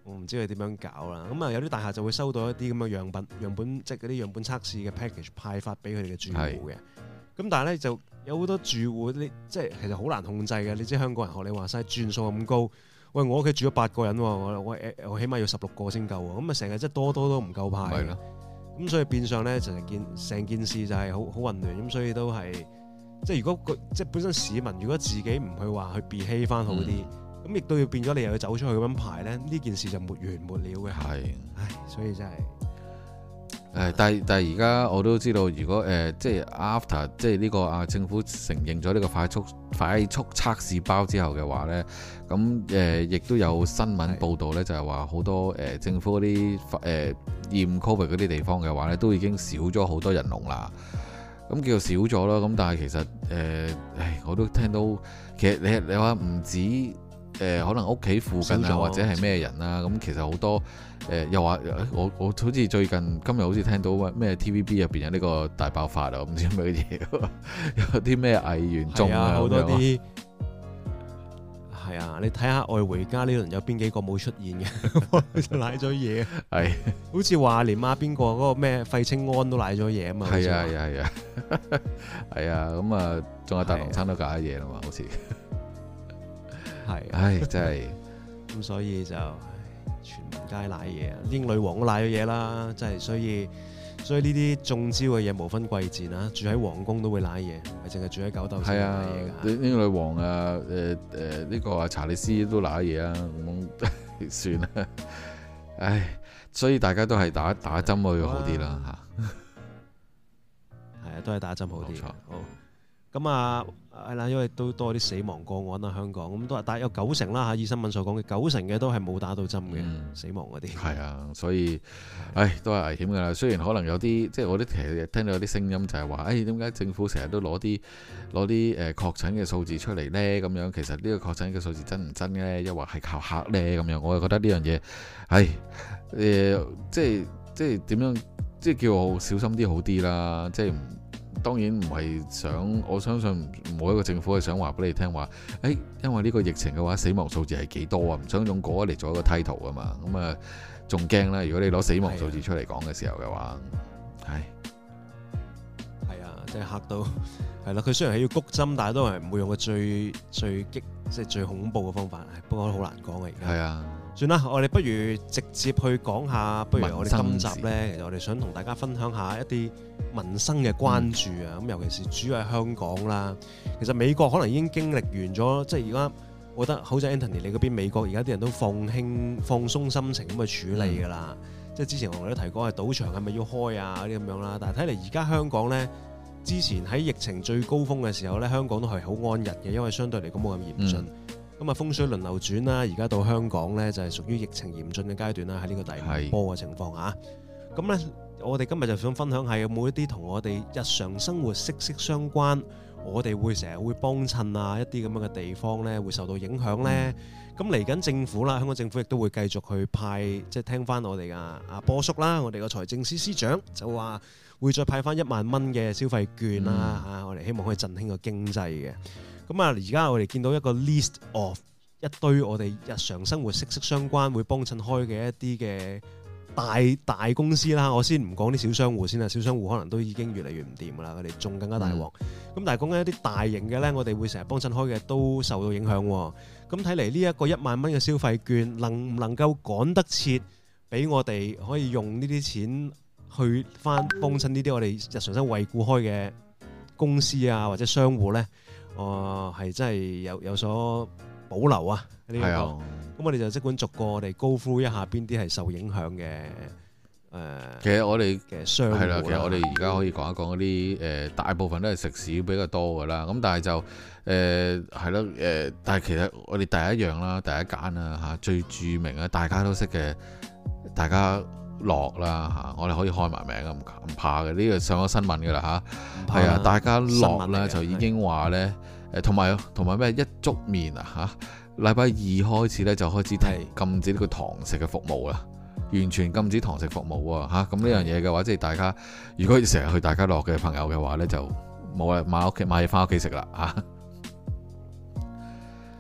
Speaker 1: 我唔知佢點樣搞啦。咁啊有啲大廈就會收到一啲咁嘅樣品樣本，即係嗰啲樣本測試嘅 package 派發俾佢哋嘅住戶嘅。咁但係咧就有好多住戶，你即係其實好難控制嘅。你知香港人學你話齋轉數咁高，喂我屋企住咗八個人喎，我我我起碼要十六個先夠喎。咁啊成日即係多多都唔夠派嘅。咁所以變相咧就係件成件事就係好好混亂。咁所以都係即係如果個即係本身市民如果自己唔去話去 behave 翻好啲。嗯咁亦都要變咗，你又要走出去咁樣排咧，呢件事就沒完沒了嘅。係，唉，所以真係
Speaker 2: 誒，但係但係而家我都知道，如果誒、呃、即係 after 即係呢個啊政府承認咗呢個快速快速測試包之後嘅話咧，咁誒亦都有新聞報導咧，就係話好多誒、呃、政府嗰啲誒驗 Covid 嗰啲地方嘅話咧，都已經少咗好多人龍啦。咁叫做少咗啦，咁但係其實誒，誒、呃、我都聽到，其實你你話唔止。誒、呃、可能屋企附近啊，或者係咩人啊？咁其實好多誒、呃、又話我我好似最近今日好似聽到咩 T V B 入邊有呢個大爆發啊，唔知咩嘢，有啲咩藝員中啊，好多啲係啊！你睇下《愛回家》呢輪有邊幾個冇出現嘅，就賴咗嘢。係，好似話連啊邊個嗰個咩費清安都賴咗嘢啊嘛。係啊係啊係啊，係啊咁啊，仲有大龍餐都搞咗嘢啦嘛，好似。係，唉，真係咁，所以就全街瀨嘢啊！英女王都瀨咗嘢啦，真係，所以所以呢啲中招嘅嘢無分貴賤啊！住喺皇宮都會瀨嘢，唔係淨係住喺狗竇先瀨嘢㗎。英女王啊，誒誒呢個啊查理斯都瀨嘢啊，咁算啦。唉，所以大家都係打打針會好啲啦嚇。係啊，都係打針好啲。冇錯，好。咁啊，係啦，因為都多啲死亡個案啦，香港咁都係，但係有九成啦嚇，以新聞所講嘅九成嘅都係冇打到針嘅、嗯、死亡嗰啲。係啊，所以，唉，都係危險㗎啦。雖然可能有啲，即係我啲其實聽到有啲聲音就係話，誒點解政府成日都攞啲攞啲誒確診嘅數字出嚟咧？咁樣其實呢個確診嘅數字真唔真咧？抑或係靠嚇咧？咁樣我就覺得呢樣嘢，唉，誒、呃，即係即係點樣，即係叫我小心啲好啲啦，即係。當然唔係想，我相信冇一個政府係想話俾你聽話，誒，因為呢個疫情嘅話，死亡數字係幾多啊？唔想用嗰個嚟做一個 title 啊嘛，咁啊，仲驚啦！如果你攞死亡數字出嚟講嘅時候嘅話，係係啊，即係嚇到係啦。佢雖然係要谷針，但係都係唔會用個最最激，即係最恐怖嘅方法。不過都好難講啊，而家係啊。算啦，我哋不如直接去講下，不如我哋今集呢，其實我哋想同大家分享下一啲民生嘅關注啊，咁、嗯、尤其是主要係香港啦。其實美國可能已經經歷完咗，即係而家我覺得好似 Anthony 你嗰邊美國而家啲人都放輕放鬆心情咁去處理㗎啦。嗯、即係之前我哋都提過係賭場係咪要開啊嗰啲咁樣啦，但係睇嚟而家香港呢，之前喺疫情最高峰嘅時候呢，香港都係好安逸嘅，因為相對嚟講冇咁嚴峻。嗯咁啊風水輪流轉啦，而家到香港咧就係屬於疫情嚴峻嘅階段啦，喺呢個第五波嘅情況下，咁咧我哋今日就想分享下有冇一啲同我哋日常生活息息相關，我哋會成日會幫襯啊一啲咁樣嘅地方咧會受到影響咧。咁嚟緊政府啦，香港政府亦都會繼續去派，即係聽翻我哋嘅阿波叔啦，我哋個財政司司長就話會再派翻一萬蚊嘅消費券啦，嚇、嗯、我哋希望可以振興個經濟嘅。咁啊，而家我哋見到一個 list of 一堆我哋日常生活息息相關會幫襯開嘅一啲嘅大大公司啦。我先唔講啲小商戶先啦，小商戶可能都已經越嚟越唔掂噶啦，佢哋仲更加大鑊。咁、嗯、但係講緊一啲大型嘅咧，我哋會成日幫襯開嘅都受到影響。咁睇嚟呢一個一萬蚊嘅消費券能唔能夠趕得切，俾我哋可以用呢啲錢去翻幫襯呢啲我哋日常生活惠顧開嘅公司啊或者商戶咧？哦，係真係有有所保留啊！呢、這個，咁、啊、我哋就即管逐個我哋 go through一下邊啲係受影響嘅。誒、呃， 其實我哋
Speaker 1: 嘅商戶係啦，
Speaker 2: 其實我哋而家可以講一講嗰啲誒，大部分都係食肆比較多噶啦。咁但係就誒係咯誒，但係其實我哋第一樣啦，第一間啦嚇，最著名啊，大家都識嘅，大家樂啦嚇，我哋可以開埋名啊，唔唔怕嘅，呢、這個上咗新聞噶啦嚇，係啊，大家樂咧就已經話咧。誒同埋同埋咩一粥麵啊嚇，禮拜二開始咧就開始禁止呢個堂食嘅服務啦，完全禁止堂食服務喎嚇。咁呢樣嘢嘅話，即係大家如果成日去大家樂嘅朋友嘅話咧，就冇啦，買屋企買嘢翻屋企食啦嚇。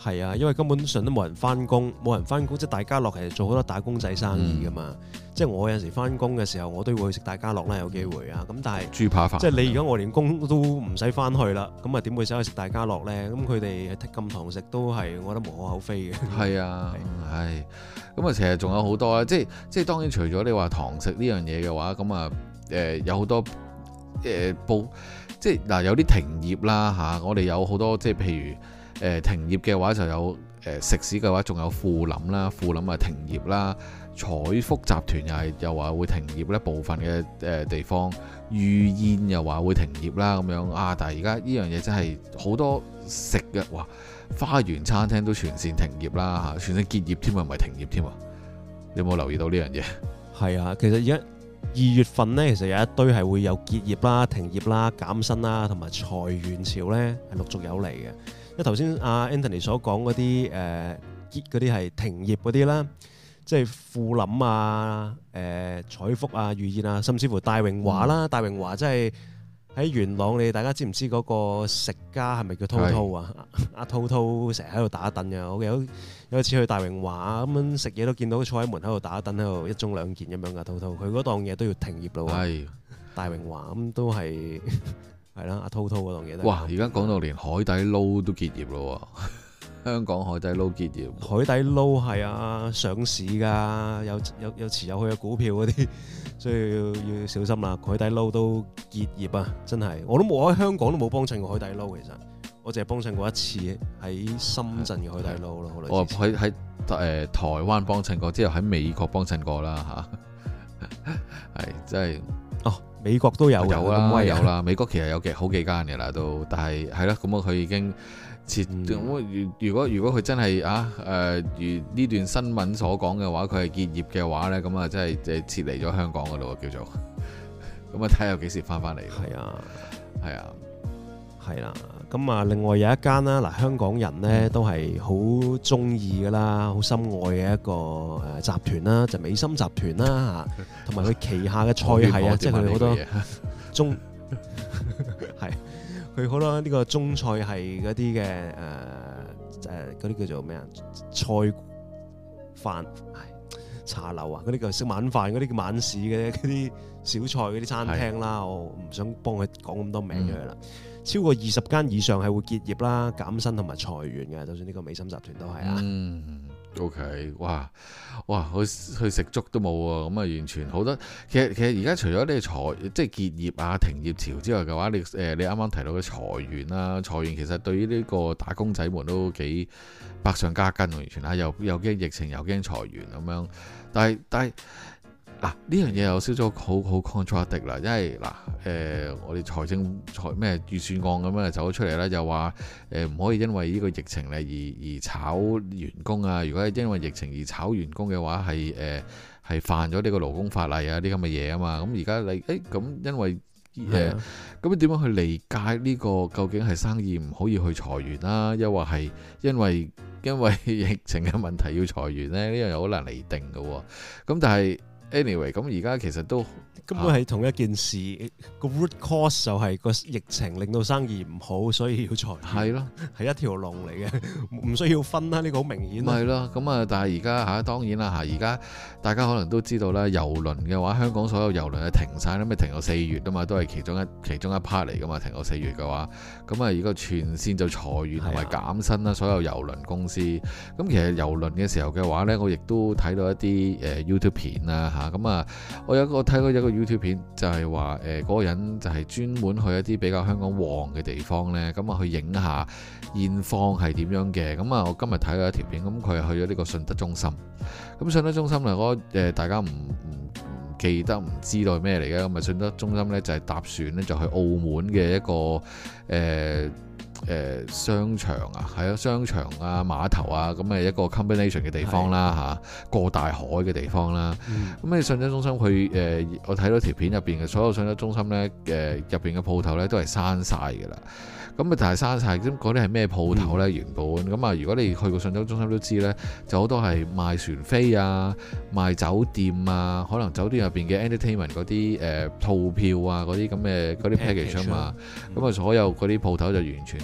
Speaker 1: 係啊，因為根本上都冇人翻工，冇人翻工，即係大家樂其實做好多打工仔生意噶嘛。嗯、即係我有陣時翻工嘅時候，我都會去食大家樂啦，有機會啊。咁但係
Speaker 2: 豬扒飯，
Speaker 1: 即係你而家我連工都唔使翻去啦，咁啊點會走去食大家樂咧？咁佢哋咁堂食都係，我覺得無可厚非嘅。係
Speaker 2: 啊，係。咁啊，其實仲有好多啦，即係即係當然除咗你話堂食呢樣嘢嘅話，咁啊誒有好多誒報、呃，即係嗱有啲停業啦嚇、啊，我哋有好多即係譬如。誒、呃、停業嘅話就有誒、呃、食肆嘅話，仲有富臨啦，富臨啊停業啦，彩福集團又係又話會停業咧，部分嘅誒、呃、地方，御宴又話會停業啦咁樣啊！但係而家呢樣嘢真係好多食嘅，哇！花園餐廳都全線停業啦嚇，全線結業添啊，唔係停業添啊！你有冇留意到呢樣嘢？係
Speaker 1: 啊，其實而家二月份呢，其實有一堆係會有結業啦、停業啦、減薪啦，同埋裁員潮呢，係陸續有嚟嘅。因為頭先阿 Anthony 所講嗰啲誒結嗰啲係停業嗰啲啦，即係富臨啊、誒、呃、彩福啊、御宴啊，甚至乎大榮華啦。嗯、大榮華即係喺元朗，你大家知唔知嗰個食家係咪叫滔滔啊？阿滔滔成日喺度打躉嘅，我有有一次去大榮華咁樣食嘢，都見到佢坐喺門口度打躉，喺度一盅兩件咁樣噶。滔滔佢嗰檔嘢都要停業咯。係大榮華咁都係。係啦，阿滔滔嗰檔嘢都。哇！
Speaker 2: 而家講到連海底撈都結業咯，香港海底撈結業。
Speaker 1: 海底撈係啊，上市㗎，有有有持有佢嘅股票嗰啲，所以要要小心啦。海底撈都結業啊，真係。我都冇喺香港都冇幫襯過海底撈，其實我淨係幫襯過一次喺深圳嘅海底撈咯。
Speaker 2: 我喺喺誒台灣幫襯過，之後喺美國幫襯過啦嚇。係真係
Speaker 1: 哦。美國都有
Speaker 2: 有啦，有啦。美國其實有幾好幾間嘅啦，都但係係啦。咁啊，佢已經撤。嗯、如果如果佢真係啊誒、呃，如呢段新聞所講嘅話，佢係結業嘅話咧，咁啊，真係即係撤離咗香港嗰度叫做。咁啊，睇下有幾時翻翻嚟。係啊，係啊，
Speaker 1: 係啦。咁啊，另外有一間啦，嗱，香港人咧都係好中意噶啦，好深愛嘅一個誒集團啦，就美心集團啦嚇，同埋佢旗下嘅菜系啊，即係佢好多中係佢好多呢個中菜系嗰啲嘅誒誒嗰啲叫做咩啊？菜飯茶樓啊，嗰啲叫食晚飯嗰啲叫晚市嘅嗰啲小菜嗰啲餐廳啦，的我唔想幫佢講咁多名出嚟啦。嗯超過二十間以上係會結業啦、減薪同埋裁員嘅，就算呢個美心集團都係啊。
Speaker 2: 嗯，OK，哇哇，去去食粥都冇喎，咁啊完全好多。其實其實而家除咗你裁即係結業啊、停業潮之外嘅話，你誒、呃、你啱啱提到嘅裁員啦，裁員其實對於呢個打工仔們都幾百上加斤，完全啊，又又驚疫情，又驚裁員咁樣。但係但係。嗱，呢樣嘢有少少好好 contradict 啦，因為嗱誒、呃，我哋財政財咩預算案咁樣走咗出嚟啦，又話誒唔可以因為呢個疫情咧而而炒員工啊！如果係因為疫情而炒員工嘅話，係誒係犯咗呢個勞工法例啊啲咁嘅嘢啊嘛。咁而家你誒咁因為誒咁點樣去理解呢個究竟係生意唔可以去裁員啦，又或係因為因為疫情嘅問題要裁員咧？呢樣又好難釐定嘅喎。咁但係。Anyway，咁而家其實都
Speaker 1: 根本係同一件事，個、啊、root cause 就係個疫情令到生意唔好，所以要裁員。係咯的，係一條龍嚟嘅，唔需要分啦。呢、呢個好明顯。
Speaker 2: 係咯，咁啊，但係而家嚇當然啦嚇，而家大家可能都知道啦，郵輪嘅話，香港所有郵輪係停晒啦，咪停到四月啊嘛，都係其中一其中一 part 嚟噶嘛，停到四月嘅話，咁啊，而家全線就裁員同埋減薪啦，的所有郵輪公司。咁其實郵輪嘅時候嘅話咧，我亦都睇到一啲誒 YouTube 片啦嚇。咁啊，我有個睇過一個 YouTube 片，就係話誒嗰個人就係專門去一啲比較香港旺嘅地方咧，咁啊去影下現況係點樣嘅。咁啊，我今日睇咗一條片，咁佢係去咗呢個信德中心。咁信德中心嚟講，誒大家唔唔唔記得唔知道係咩嚟嘅？咁啊，信德中心咧就係搭船咧就去澳門嘅一個誒。呃誒、呃、商場啊，係啊，商場啊，碼頭啊，咁嘅一個 combination 嘅地方啦嚇的、啊，過大海嘅地方啦。咁你信德中心佢誒、呃，我睇到條片入邊嘅所有信德中心咧，誒入邊嘅鋪頭咧都係閂晒㗎啦。咁啊，但係閂晒，咁嗰啲係咩鋪頭咧？原本咁啊，如果你去過信德中心都知咧，就好多係賣船飛啊，賣酒店啊，可能酒店入邊嘅 entertainment 嗰啲誒套票啊，嗰啲咁嘅嗰啲 package 啊嘛。咁啊，所有嗰啲鋪頭就完全就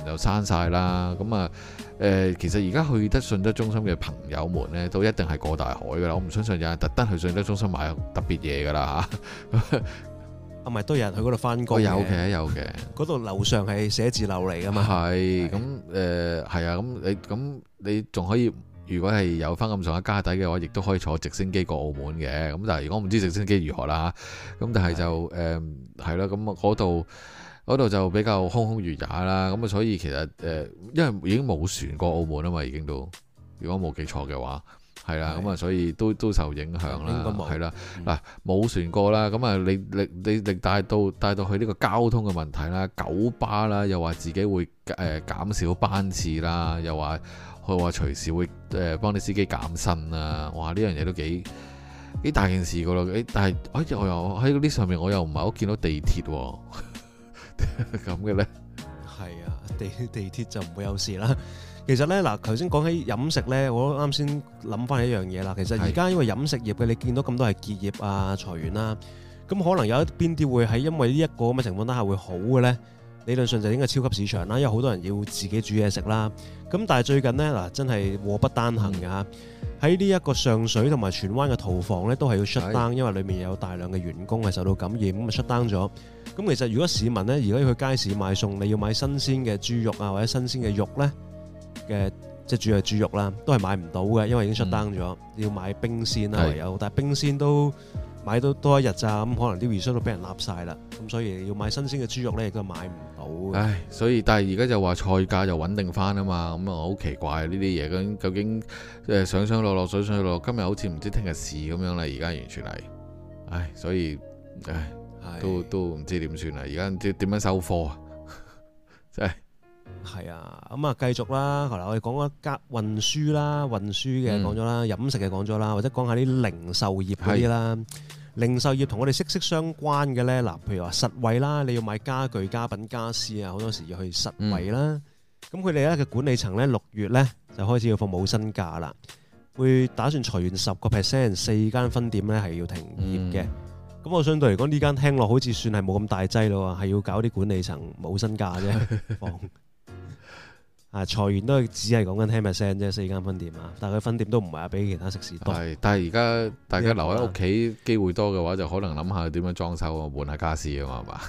Speaker 2: 又閂晒啦。咁啊誒，其實而家去得信德中心嘅朋友們呢，都一定係過大海㗎啦。我唔相信有人特登去信德中心買特別嘢㗎啦嚇。
Speaker 1: 啊，咪都有人去嗰度翻工嘅，
Speaker 2: 有嘅有嘅。
Speaker 1: 嗰度樓上係寫字樓嚟㗎嘛。
Speaker 2: 係咁誒，係啊。咁你咁你仲可以，如果係有翻咁上下家底嘅話，亦都可以坐直升機過澳門嘅。咁但係如果唔知直升機如何啦嚇，咁但係就誒係啦。咁嗰度嗰度就比較空空如也啦。咁啊，所以其實誒、呃，因為已經冇船過澳門啊嘛，已經都如果冇記錯嘅話。係啦，咁啊，所以都都受影響啦，係啦，嗱冇船過啦，咁啊，你你你你帶到帶到去呢個交通嘅問題啦，九巴啦，又話自己會誒減少班次啦，又話佢話隨時會誒幫啲司機減薪啊，哇！呢樣嘢都幾幾大件事噶咯，誒，但係好似我又喺嗰啲上面，我又唔係好見到地鐵咁嘅咧。係
Speaker 1: 啊，地地鐵就唔會有事啦。其實咧，嗱，頭先講起飲食咧，我啱先諗翻起一樣嘢啦。其實而家因為飲食業嘅，你見到咁多係結業啊、裁員啦，咁可能有一邊啲會係因為呢一個咁嘅情況底下會好嘅咧。理論上就應該超級市場啦，因為好多人要自己煮嘢食啦。咁但係最近呢，嗱，真係禍不單行嘅嚇。喺呢一個上水同埋荃灣嘅屠房咧，都係要 shut down，因為裡面有大量嘅員工係受到感染，咁啊 shut down 咗。咁其實如果市民咧，如果要去街市買餸，你要買新鮮嘅豬肉啊，或者新鮮嘅肉咧嘅，即係主要係豬肉啦，都係買唔到嘅，因為已經 shut down 咗。嗯、要買冰鮮啦，唯有，但係冰鮮都買到多一日咋，咁可能啲 resource 都俾人立晒啦。咁所以要買新鮮嘅豬肉咧，亦都買唔到。
Speaker 2: 唉，所以但係而家就話菜價就穩定翻啊嘛，咁啊好奇怪呢啲嘢，究竟究竟誒上上落落水上落落，今日好似唔知聽日事咁樣啦，而家完全係，唉，所以唉都都唔知點算啦，而家唔知點樣收貨啊，真係。係
Speaker 1: 啊，咁啊繼續啦，後來我哋講一間運輸啦，運輸嘅講咗啦，飲食嘅講咗啦，或者講下啲零售業嗰啲啦。零售業同我哋息息相關嘅咧，嗱，譬如話實惠啦，你要買家具、家品、家私啊，好多時要去實惠啦。咁佢哋咧嘅管理層咧，六月咧就開始要放冇薪假啦，會打算裁員十個 percent， 四間分店咧係要停業嘅。咁、嗯、我相對嚟講，呢間聽落好似算係冇咁大劑咯，係要搞啲管理層冇薪假啫，放。啊！裁員都係只係講緊ten percent啫，四間分店啊，但係佢分店都唔係話比其他食肆多。係，
Speaker 2: 但係而家大家留喺屋企機會多嘅話，就可能諗下點樣裝修啊，換下家私啊嘛，係嘛？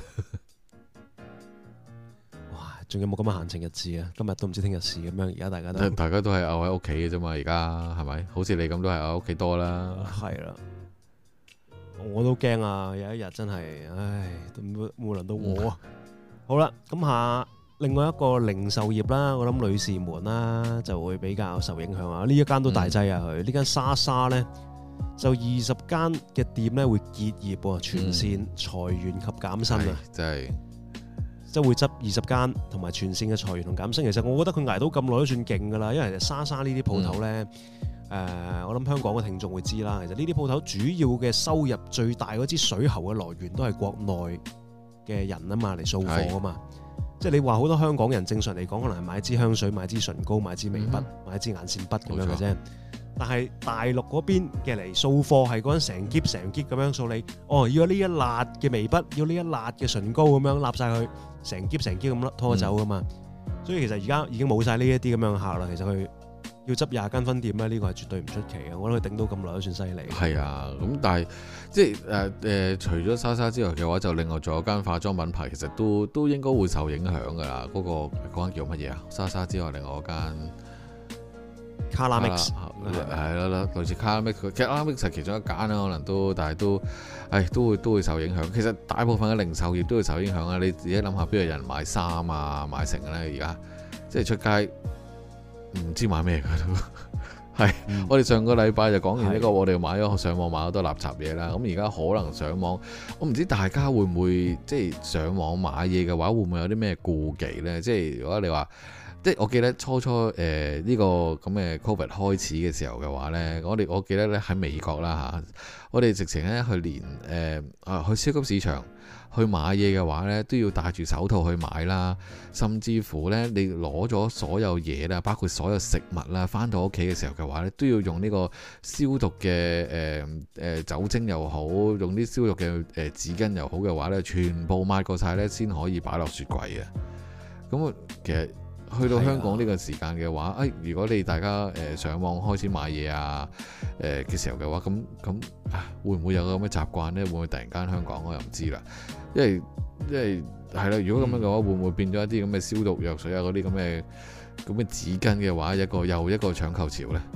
Speaker 2: 哇！仲有冇咁嘅閒情逸致啊？今日都唔知聽日事咁樣，而家大家都
Speaker 1: 大
Speaker 2: 家都係漚喺屋企嘅啫嘛，而家係咪？好似你咁都係漚喺屋企多啦。
Speaker 1: 係啦，我都驚啊！有一日真係，唉，都冇冇輪到我啊！嗯、好啦，咁下。另外一個零售業啦，我諗女士們啦就會比較受影響啊！呢一間都大劑啊，佢呢、嗯、間莎莎咧就二十間嘅店咧會結業喎，全線裁員及減薪啊！
Speaker 2: 真係
Speaker 1: 即係會執二十間，同埋全線嘅裁員同減薪。其實我覺得佢捱到咁耐都算勁㗎啦，因為莎莎呢啲鋪頭咧，誒、嗯呃、我諗香港嘅聽眾會知啦。其實呢啲鋪頭主要嘅收入最大嗰支水喉嘅來源都係國內嘅人啊嘛，嚟掃貨啊嘛。即係你話好多香港人正常嚟講，可能係買支香水、買支唇膏、買支眉筆、嗯、買支眼線筆咁樣嘅啫。但係大陸嗰邊嘅嚟掃貨係嗰陣成篋成篋咁樣掃你。哦，要呢一辣嘅眉筆，要呢一辣嘅唇膏咁樣揦晒佢，成篋成篋咁拖走噶嘛。嗯、所以其實而家已經冇晒呢一啲咁樣嘅客啦。其實佢要執廿間分店咧，呢、這個係絕對唔出奇嘅。我覺得佢頂到咁耐都算犀利。
Speaker 2: 係啊，咁但係即係誒誒，除咗莎莎之外嘅話，就另外仲有間化妝品牌，其實都都應該會受影響㗎啦。嗰、那個嗰間叫乜嘢啊？莎莎之外，另外嗰間
Speaker 1: Caramix
Speaker 2: 係啦，類似 Caramix， 其實 Caramix 係其中一間啦，可能都，但係都係都會都會受影響。其實大部分嘅零售業都會受影響啊！你自己諗下，邊度有人買衫啊、買成咧？而家即係出街。唔知買咩㗎都係，嗯、我哋上個禮拜就講完呢、這個，的我哋買咗上網買好多垃圾嘢啦。咁而家可能上網，我唔知大家會唔會即係上網買嘢嘅話，會唔會有啲咩顧忌呢？即係如果你話，即係我記得初初誒呢、呃這個咁嘅 Covid 開始嘅時候嘅話呢，我哋我記得咧喺美國啦嚇，我哋直情咧去連誒啊、呃、去超級市場。去買嘢嘅話呢，都要戴住手套去買啦，甚至乎呢，你攞咗所有嘢啦，包括所有食物啦，返到屋企嘅時候嘅話呢，都要用呢個消毒嘅誒誒酒精又好，用啲消毒嘅誒紙巾又好嘅話呢，全部抹過晒呢，先可以擺落雪櫃嘅。咁其實去到香港呢個時間嘅話，誒、啊哎，如果你大家誒、呃、上網開始買嘢啊誒嘅、呃、時候嘅話，咁咁啊，會唔會有咁嘅習慣呢？會唔會突然間香港我又唔知啦，因為因為係啦，如果咁樣嘅話，嗯、會唔會變咗一啲咁嘅消毒藥水啊嗰啲咁嘅咁嘅紙巾嘅話，一個又一個搶購潮呢？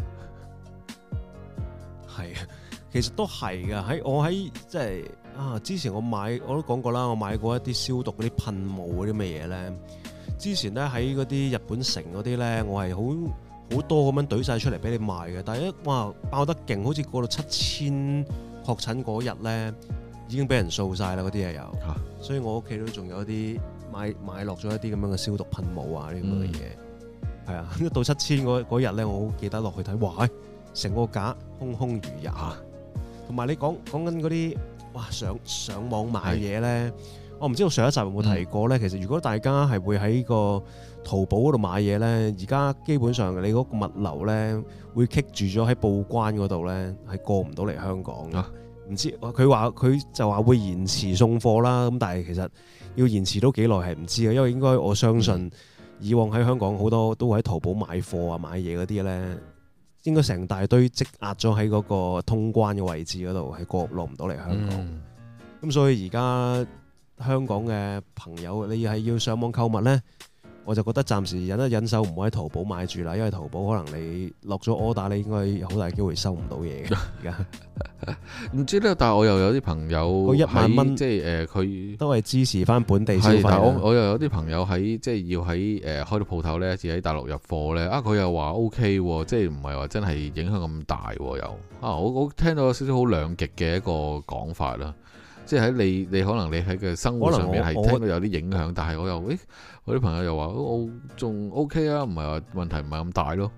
Speaker 1: 係啊，其實都係噶。喺我喺即係啊，之前我買我都講過啦，我買過一啲消毒嗰啲噴霧嗰啲咩嘢咧。之前咧喺嗰啲日本城嗰啲咧，我係好好多咁樣懟晒出嚟俾你賣嘅。但係一哇爆得勁，好似過到七千確診嗰日咧，已經俾人掃晒啦嗰啲嘢有。啊、所以我屋企都仲有一啲買買落咗一啲咁樣嘅消毒噴霧啊呢咁嘅嘢。係、嗯、啊，一到七千嗰日咧，我好記得落去睇，哇！成個架空空如也。同埋、啊、你講講緊嗰啲哇上上網買嘢咧。我唔知道上一集有冇提過咧，嗯、其實如果大家係會喺個淘寶嗰度買嘢咧，而家基本上你嗰個物流咧會棘住咗喺報關嗰度咧，係過唔到嚟香港嘅。唔、啊、知佢話佢就話會延遲送貨啦，咁但係其實要延遲到幾耐係唔知嘅，因為應該我相信以往喺香港好多都會喺淘寶買貨啊買嘢嗰啲咧，應該成大堆積壓咗喺嗰個通關嘅位置嗰度，係過落唔到嚟香港。咁、嗯、所以而家香港嘅朋友，你係要上網購物呢，我就覺得暫時忍一忍手，唔好喺淘寶買住啦，因為淘寶可能你落咗 order，你應該好大機會收唔到嘢嘅。而家唔
Speaker 2: 知咧，但係我又有啲朋友
Speaker 1: 一萬蚊，
Speaker 2: 即係誒，佢、呃、
Speaker 1: 都係支持翻本地消費。
Speaker 2: 但我我又有啲朋友喺即係要喺誒、呃、開到鋪頭呢，似喺大陸入貨呢。啊，佢又話 O K 喎，即係唔係話真係影響咁大喎？又啊，我我聽到有少少好兩極嘅一個講法啦。即係喺你你可能你喺嘅生活上面係聽到有啲影響，但係我又誒，我啲朋友又話我仲 OK 啊，唔係話問題唔係咁大咯。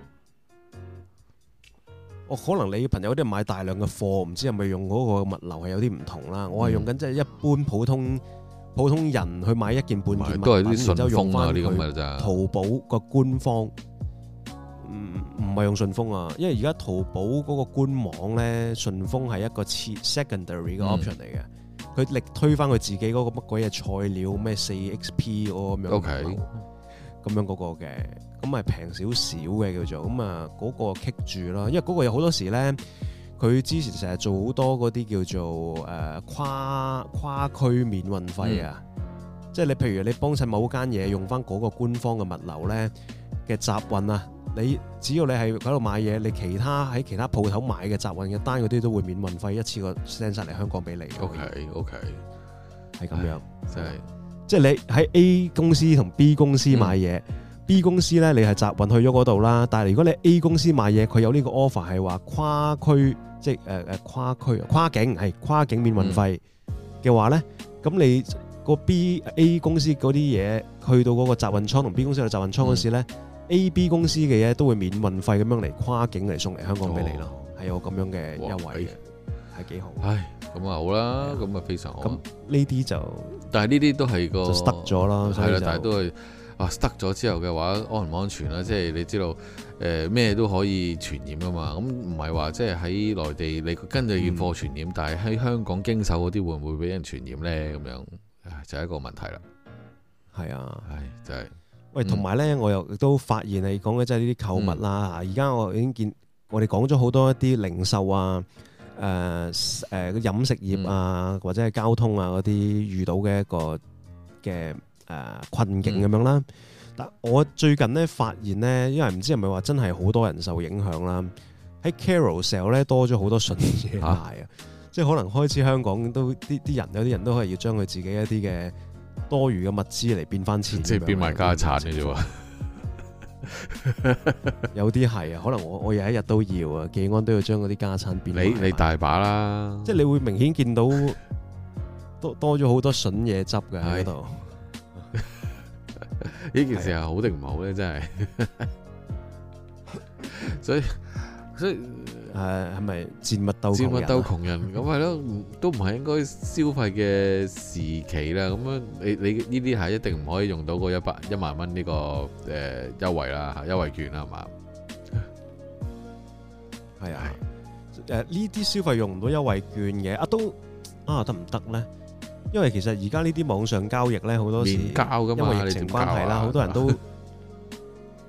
Speaker 1: 我可能你朋友啲買大量嘅貨，唔知係咪用嗰個物流係有啲唔同啦。嗯、我係用緊即係一般普通普通人去買一件半件物品，都係啲順豐啊啲咁嘅咋。淘寶個官方。唔唔係用順豐啊，因為而家淘寶嗰個官網咧，順豐係一個次 secondary 嘅 option 嚟嘅，佢、嗯、力推翻佢自己嗰個乜鬼嘢菜料咩四 X P 嗰個咁樣，咁
Speaker 2: Okay.
Speaker 1: 樣嗰個嘅，咁係平少少嘅叫做，咁啊嗰個棘住啦，因為嗰個有好多時咧，佢之前成日做好多嗰啲叫做誒、呃、跨跨區免運費啊，嗯、即係你譬如你幫襯某間嘢用翻嗰個官方嘅物流咧嘅集運啊。你只要你係喺度買嘢，你其他喺其他鋪頭買嘅集運嘅單嗰啲都會免運費，一次過 send 晒嚟香港俾你。
Speaker 2: OK OK，
Speaker 1: 係咁樣，
Speaker 2: 即係
Speaker 1: 即係你喺 A 公司同 B 公司買嘢、嗯、，B 公司咧你係集運去咗嗰度啦。但係如果你 A 公司買嘢，佢有呢個 offer 係話跨區，即係誒誒跨區跨境係跨境免運費嘅話咧，咁、嗯、你個 B A 公司嗰啲嘢去到嗰個集運倉同 B 公司嘅集運倉嗰時咧。嗯A、B 公司嘅嘢都會免運費咁樣嚟跨境嚟送嚟香港俾你咯，係、哦、有咁樣嘅優惠嘅，係幾好。
Speaker 2: 唉，咁啊好啦，咁啊的非常好。咁
Speaker 1: 呢啲就，但係呢啲都係個就 stuck 咗啦，係啦，但係都係啊 stuck 咗之後嘅話，安唔安全啦？即係你知道誒咩、呃、都可以傳染噶嘛，咁唔係話即係喺內地你跟住驗貨傳染，嗯、但係喺香港經手嗰啲會唔會俾人傳染咧？咁樣就係、是、一個問題啦。係啊，唉，真係。喂，同埋咧，我又都發現你講嘅即係呢啲購物啦。而家、嗯、我已經見我哋講咗好多一啲零售啊、誒誒飲食業啊，嗯、或者係交通啊嗰啲遇到嘅一個嘅誒、呃、困境咁樣啦。嗯、但我最近咧發現咧，因為唔知係咪話真係好多人受影響啦，喺 Carousell 咧多咗好多筍嘢賣啊，即係可能開始香港都啲啲人有啲人都係要將佢自己一啲嘅多餘嘅物資嚟變翻錢，即係變埋家產嘅啫喎。有啲係啊，可能我我有一日都要啊，技安都要將嗰啲家產變。你你大把啦，即係你會明顯見到多多咗好多筍嘢執嘅喺度。呢件事係好定唔好咧？真係，所以所以。誒係咪賤物鬥賤物鬥窮人咁係咯？都唔係應該消費嘅時期啦。咁樣你你呢啲係一定唔可以用到嗰一百一萬蚊呢個誒優惠啦，優惠券啦，係嘛？係啊，誒呢啲消費用唔到優惠券嘅啊都啊得唔得咧？因為其實而家呢啲網上交易咧好多時免交㗎嘛，因為疫情關係啦，好多人都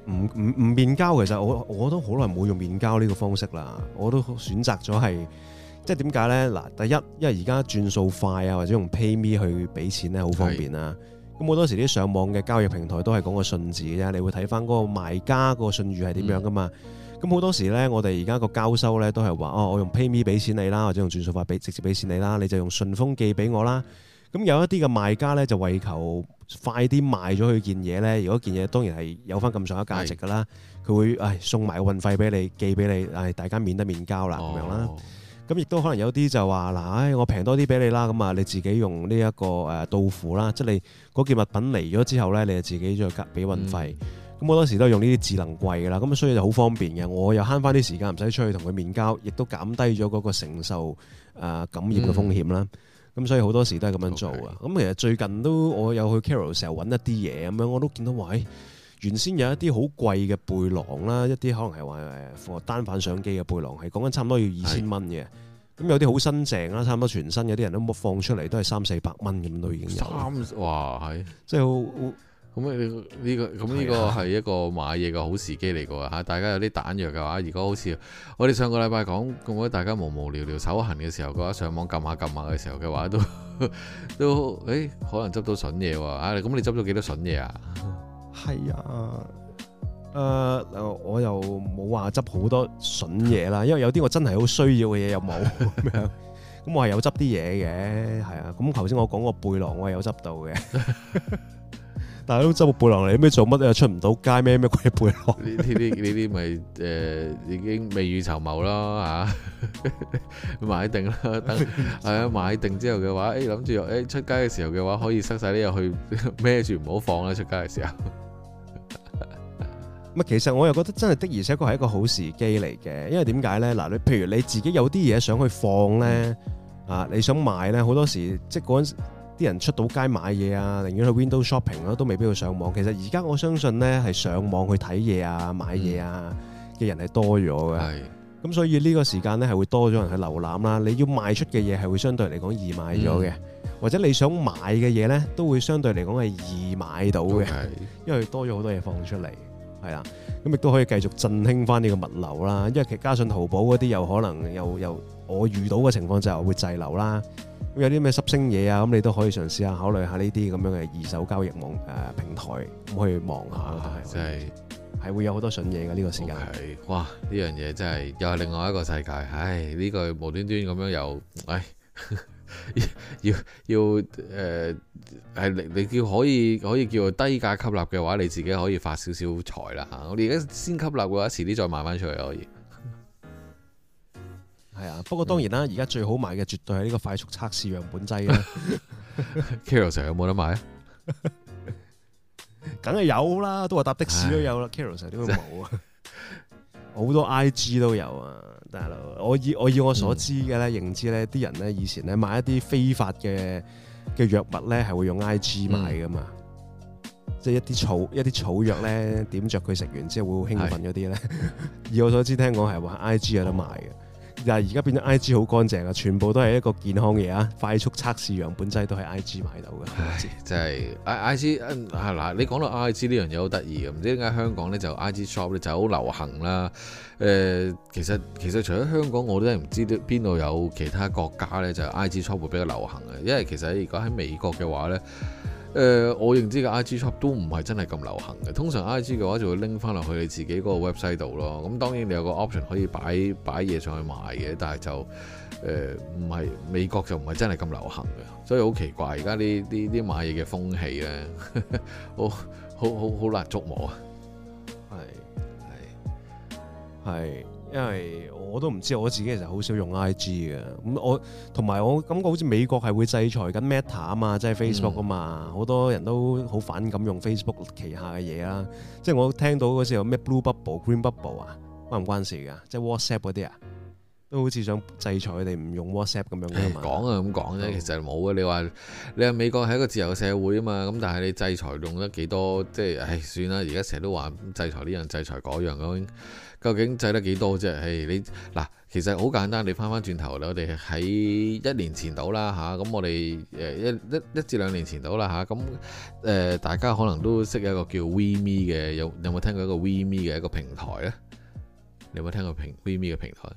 Speaker 1: 唔唔唔面交，其實我我都好耐冇用面交呢個方式啦。我都選擇咗係即係點解咧？嗱，第一，因為而家轉數快啊，或者用 PayMe 去俾錢咧，好方便啦。咁好多時啲上網嘅交易平台都係講個信字嘅啫，你會睇翻嗰個賣家個信譽係點樣噶嘛。咁好、嗯、多時咧，我哋而家個交收咧都係話哦，我用 PayMe 俾錢你啦，或者用轉數快俾直接俾錢你啦，你就用順豐寄俾我啦。咁有一啲嘅賣家咧就為求快啲賣咗佢件嘢咧，如果件嘢當然係有翻咁上下價值噶啦，佢是會誒送埋個運費俾你，寄俾你，誒大家免得面交啦咁、哦、樣啦。咁亦都可能有啲就話嗱，唉我平多啲俾你啦，咁啊你自己用呢一個誒到付啦，即係你嗰件物品嚟咗之後咧，你就自己再加俾運費。咁好、嗯、多時都係用呢啲智能櫃噶啦，咁所以就好方便嘅。我又慳翻啲時間，唔使出去同佢面交，亦都減低咗嗰個承受誒感染嘅風險啦。嗯咁所以好多時都係咁樣做啊！咁 Okay. 其實最近都我有去 Carousell 成日揾一啲嘢咁樣，我都見到話，誒原先有一啲好貴嘅背囊啦，一啲可能係話誒單反相機嘅背囊，係講緊差唔多要二千蚊嘅。咁是有啲好新淨啦，差唔多全新，有啲人都冇放出嚟都係三四百蚊咁都已經有。三哇係，即係好。咁呢、呢個咁呢個係一個買嘢嘅好時機嚟㗎嚇，大家有啲彈藥嘅話，如果好似我哋上個禮拜講咁，我大家無無聊聊手痕嘅時候嘅話，上網撳下撳下嘅時候嘅話，都都誒、欸、可能執到筍嘢喎啊！咁你執咗幾多筍嘢啊？係啊，誒、呃、我又冇話執好多筍嘢啦，因為有啲我真係好需要嘅嘢又冇咁樣，咁我係有執啲嘢嘅，係啊，咁頭先我講個背囊我係有執到嘅。但係都執個背囊嚟，咩做乜又出唔到街咩咩鬼背囊？呢啲呢啲咪誒已經未雨綢繆啦嚇，買定啦，等係啊買定之後嘅話，誒諗住誒出街嘅時候嘅話，可以塞晒啲入去孭住唔好放啦，出街嘅時候。乜其實我又覺得真係的而且確係一個好時機嚟嘅，因為點解咧？嗱，你譬如你自己有啲嘢想去放咧，啊你想買咧，好多時即係嗰陣時。啲人出到街買嘢啊，寧願去 window shopping 咯，都未必去上網。其實而家我相信呢，係上網去睇嘢啊、買嘢啊嘅人係多咗嘅。係、嗯，咁所以呢個時間呢，係會多咗人去瀏覽啦。你要賣出嘅嘢係會相對嚟講易賣咗嘅，嗯、或者你想買嘅嘢呢，都會相對嚟講係易買到嘅，嗯、因為多咗好多嘢放出嚟，係啦。咁亦都可以繼續振興翻呢個物流啦。因為其實加上淘寶嗰啲有可能又又我遇到嘅情況就係會滯留啦。咁有啲咩濕星嘢啊，咁你都可以嘗試下考慮下呢啲咁樣嘅二手交易網誒、呃、平台，咁可以望下咯。係真係係會有好多筍嘢嘅呢個時間。Okay. 哇！呢樣嘢真係又係另外一個世界。唉，呢、呢個無端端咁樣又唉，要要誒係你你叫可以可以叫低價吸納嘅話，你自己可以發少少財啦嚇。我哋而家先吸納嘅話，遲啲再賣翻出去可以。係啊，不過當然啦，而家最好買嘅絕對係呢個快速測試樣本劑啦。Carousell 有冇得買啊？梗係有啦，都話搭的士都有啦。Carousell 點會冇啊？好多 I G 都有啊，大佬。我以我以我所知嘅咧，嗯、認知咧，啲人咧以前咧買一啲非法嘅嘅藥物咧，係會用 I G 買噶嘛。嗯、即係一啲草一啲草藥咧，點着佢食完之後會好興奮嗰啲咧。是以我所知，聽講係話 I G 有得賣嘅。但係而家變咗 I G 好乾淨啊，全部都係一個健康嘢啊！快速測試樣本劑都係 I G 買到嘅。唉，真係 I I G 啊嗱，你講到 I G 呢樣嘢好得意嘅，唔知點解香港咧就 I G shop 咧就好流行啦。誒、呃，其實其實除咗香港，我都係唔知道邊度有其他國家咧就 I G shop 會比較流行嘅。因為其實如果喺美國嘅話咧。誒、呃，我認知嘅 I G shop 都唔係真係咁流行嘅。通常 I G 嘅話就會拎翻落去你自己嗰個 website 度咯。咁當然你有個 option 可以擺擺嘢上去賣嘅，但係就誒唔係美國就唔係真係咁流行嘅，所以好奇怪。而家呢啲啲買嘢嘅風氣咧，好好好好難捉摸啊！係係係。因為我都唔知，我自己其實好少用 I G 嘅。咁我同埋我感覺好似美國係會制裁緊 Meta 啊嘛，即係 Facebook 啊嘛，好、嗯、多人都好反感用 Facebook 旗下嘅嘢啦。即係我聽到嗰時候咩 Blue Bubble、Green Bubble 啊，關唔關事㗎？即係 WhatsApp 嗰啲啊， 都好似想制裁佢哋唔用 WhatsApp 咁樣嘅嘛。
Speaker 2: 講啊咁講啫，其實冇嘅。你話你話美國係一個自由嘅社會啊嘛，咁但係你制裁用得幾多？即係唉，算啦。而家成日都話制裁呢樣制裁嗰樣咁，究竟制得幾多啫？唉，你嗱，其實好簡單。你翻翻轉頭啦，我哋喺一年前到啦嚇，咁我哋誒一一一至兩年前到啦嚇，咁誒大家可能都識一個叫 WeMe 嘅，有有冇聽過一個 WeMe 嘅一個平台咧？你有冇聽過平 WeMe 嘅平台？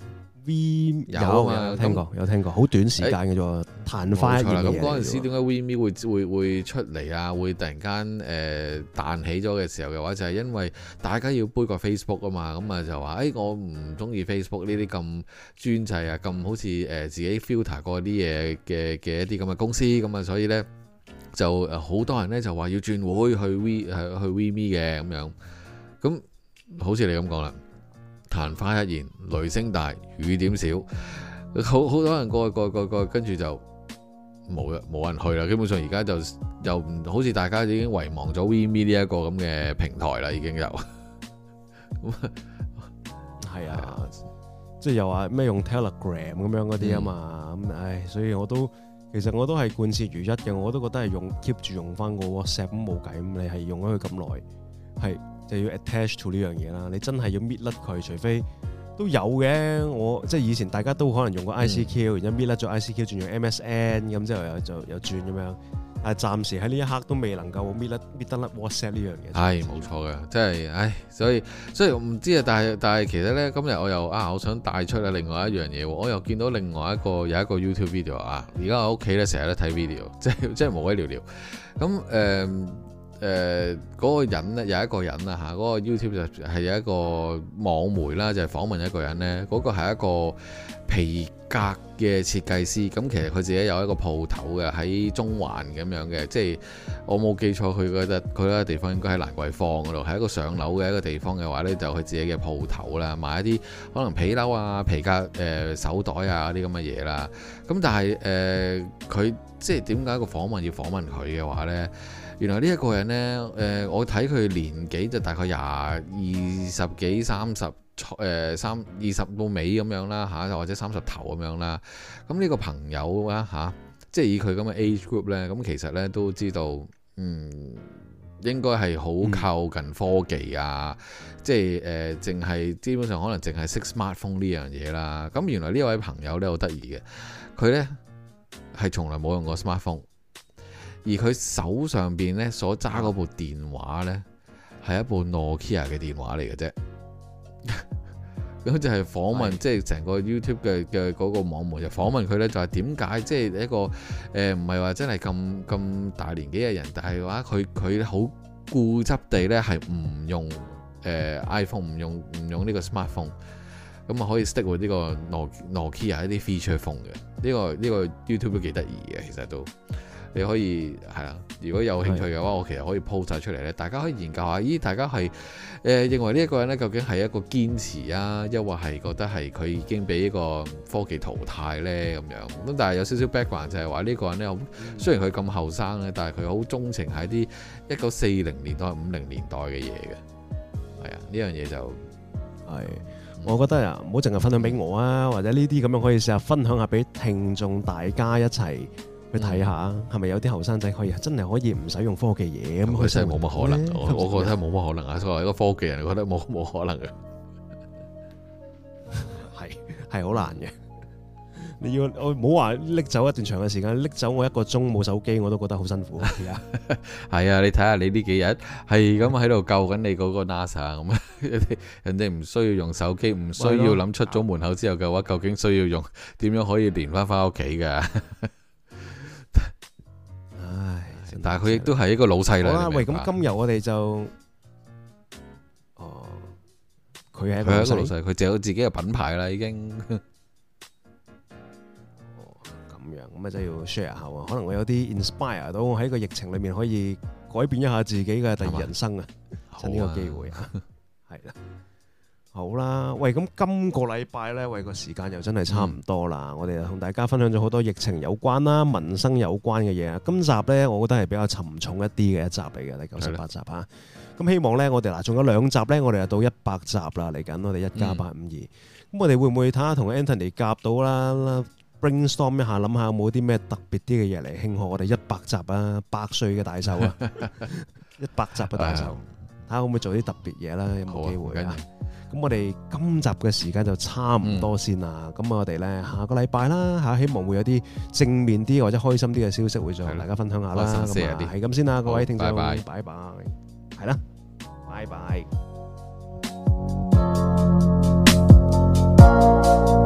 Speaker 1: V
Speaker 2: 有啊嘛，
Speaker 1: 有聽過，有聽過，好短時間嘅啫，彈翻一嘢。
Speaker 2: 咁嗰陣時點解 WeMe 會會會出嚟啊？會突然間誒彈起咗嘅時候嘅話，就係因為大家要杯葛 Facebook 啊嘛，咁啊就話誒我唔中意 Facebook 呢啲咁專制啊，咁好似誒自己 filter 過啲嘢嘅嘅一啲咁嘅公司，咁啊所以咧就誒好多人咧就話要轉會去 We 係去 WeMe 嘅咁樣，咁好似你咁講啦。曇花一現，雷聲大，雨點少，好好多人過去過去過去過去，跟住就冇啦，冇人去啦。基本上而家就又唔好似大家已經遺忘咗 WeMe 呢一個咁嘅平台啦，已經有。咁
Speaker 1: 係啊，即係又話咩用 Telegram 咁樣嗰啲啊嘛，咁、嗯、唉，所以我都其實我都係貫徹如一嘅，我都覺得係用 keep 住用翻個 WhatsApp 咁冇計，咁你係用咗佢咁耐，係。就要 attach to 呢樣嘢啦，你真係要搣甩佢，除非都有嘅。我即係以前大家都可能用過 I C Q，、嗯、然之後搣甩咗 I C Q 轉用 M S N， 咁之後又就又轉咁樣。但係暫時喺呢一刻都未能夠搣甩搣得甩 WhatsApp 呢樣嘢。係冇
Speaker 2: 錯嘅，即係唉，所以所以我唔知啊。但係但係其實咧，今日我又啊，我想帶出啊另外一樣嘢，我又見到另外一個有一個 YouTube video 啊。而家我屋企咧成日都睇 video，即係即係無鬼聊聊。咁誒。呃誒嗰、呃那個人咧有一個人啊嚇，嗰、那個 YouTube 就係有一個網媒啦，就係、是、訪問一個人咧。嗰、那個係一個皮革嘅設計師，咁其實佢自己有一個鋪頭嘅喺中環咁樣嘅，即係我冇記錯，佢嗰佢嗰個地方應該喺蘭桂坊嗰度，係一個上樓嘅一個地方嘅話呢，就佢自己嘅鋪頭啦，賣一啲可能皮褸啊、皮革誒、呃、手袋啊啲咁嘅嘢啦。咁但係誒佢即係點解個訪問要訪問佢嘅話呢？原來呢一個人呢，誒、呃、我睇佢年紀就大概廿二十幾、三十誒三二十到尾咁樣啦嚇，或者三十頭咁樣啦。咁呢個朋友啊嚇，即係以佢咁嘅 age group 呢，咁其實呢都知道，嗯，應該係好靠近科技啊，嗯、即係誒，淨、呃、係基本上可能淨係識 smartphone 呢樣嘢啦。咁原來呢位朋友呢好得意嘅，佢呢係從來冇用過 smartphone。而佢手上邊咧所揸嗰部電話咧，係一部 Nokia 嘅電話嚟嘅啫。咁就係訪問，即係成個 YouTube 嘅嘅嗰個網媒就訪問佢咧，就係點解即係一個誒唔係話真係咁咁大年紀嘅人，但係話佢佢好固執地咧係唔用誒、呃、iPhone， 唔用唔用呢個 smartphone， 咁啊可以 stick with 呢個 Nokia 一啲 feature phone 嘅。呢、這個呢、這個 YouTube 都幾得意嘅，其實都。你可以係啦，如果有興趣嘅話，我其實可以 post 晒出嚟咧，大家可以研究下。咦，大家係誒、呃、認為呢一個人咧，究竟係一個堅持啊，抑或係覺得係佢已經俾呢個科技淘汰咧咁樣？咁但係有少少 background 就係話呢個人咧，好雖然佢咁後生咧，但係佢好鍾情喺啲一九四零年代、五零年代嘅嘢嘅。係啊，呢樣嘢就係
Speaker 1: 我覺得啊，唔好淨係分享俾我啊，或者呢啲咁樣可以試下分享下俾聽眾大家一齊。去睇下，係咪有啲後生仔可以真係可以唔使用，用科技嘢咁？
Speaker 2: 佢真係冇乜可能，我我覺得冇乜可能啊！作為一個科技人，我覺得冇冇可能嘅，
Speaker 1: 係係好難嘅。你要我唔好話拎走一段長嘅時間，拎走我一個鐘冇手機，我都覺得好辛苦。係啊，
Speaker 2: 係啊，你睇下你呢幾日係咁喺度救緊你嗰個 NASA 咁啊！人哋唔需要用手機，唔需要諗出咗門口之後嘅話，究竟需要用點樣可以連翻翻屋企㗎？但係佢亦都係一個老細啦。好啦，
Speaker 1: 喂，咁今日我哋就，哦，佢係一個老細，
Speaker 2: 佢就有自己嘅品牌啦，已經。
Speaker 1: 哦，咁樣，咁啊真係要 share 下喎。可能我有啲 inspire 到我喺個疫情裏面可以改變一下自己嘅第二人生啊！趁呢個機會啊，係啦。好啦，喂，咁今個禮拜呢，喂，個時間又真係差唔多啦。嗯、我哋同大家分享咗好多疫情有關啦、民生有關嘅嘢。今集呢，我覺得係比較沉重一啲嘅一集嚟嘅，第九十八集嚇。咁的希望呢，我哋嗱仲有兩集呢，我哋就到一百集啦，嚟緊我哋一加八五二。 我哋會唔會睇下同 Anthony 夾到啦 ？brainstorm 一下，諗下有冇啲咩特別啲嘅嘢嚟慶賀我哋一百集啊，百歲嘅大壽啊，一百集嘅大壽，睇下可唔可以做啲特別嘢啦？有冇機會啊？咁我哋今集嘅時間就差唔多先啦。咁、嗯、我哋咧下個禮拜啦嚇，希望會有啲正面啲或者開心啲嘅消息會再同大家分享下啦。咁啊，係咁先啦，各位聽眾，拜拜，係啦，拜拜。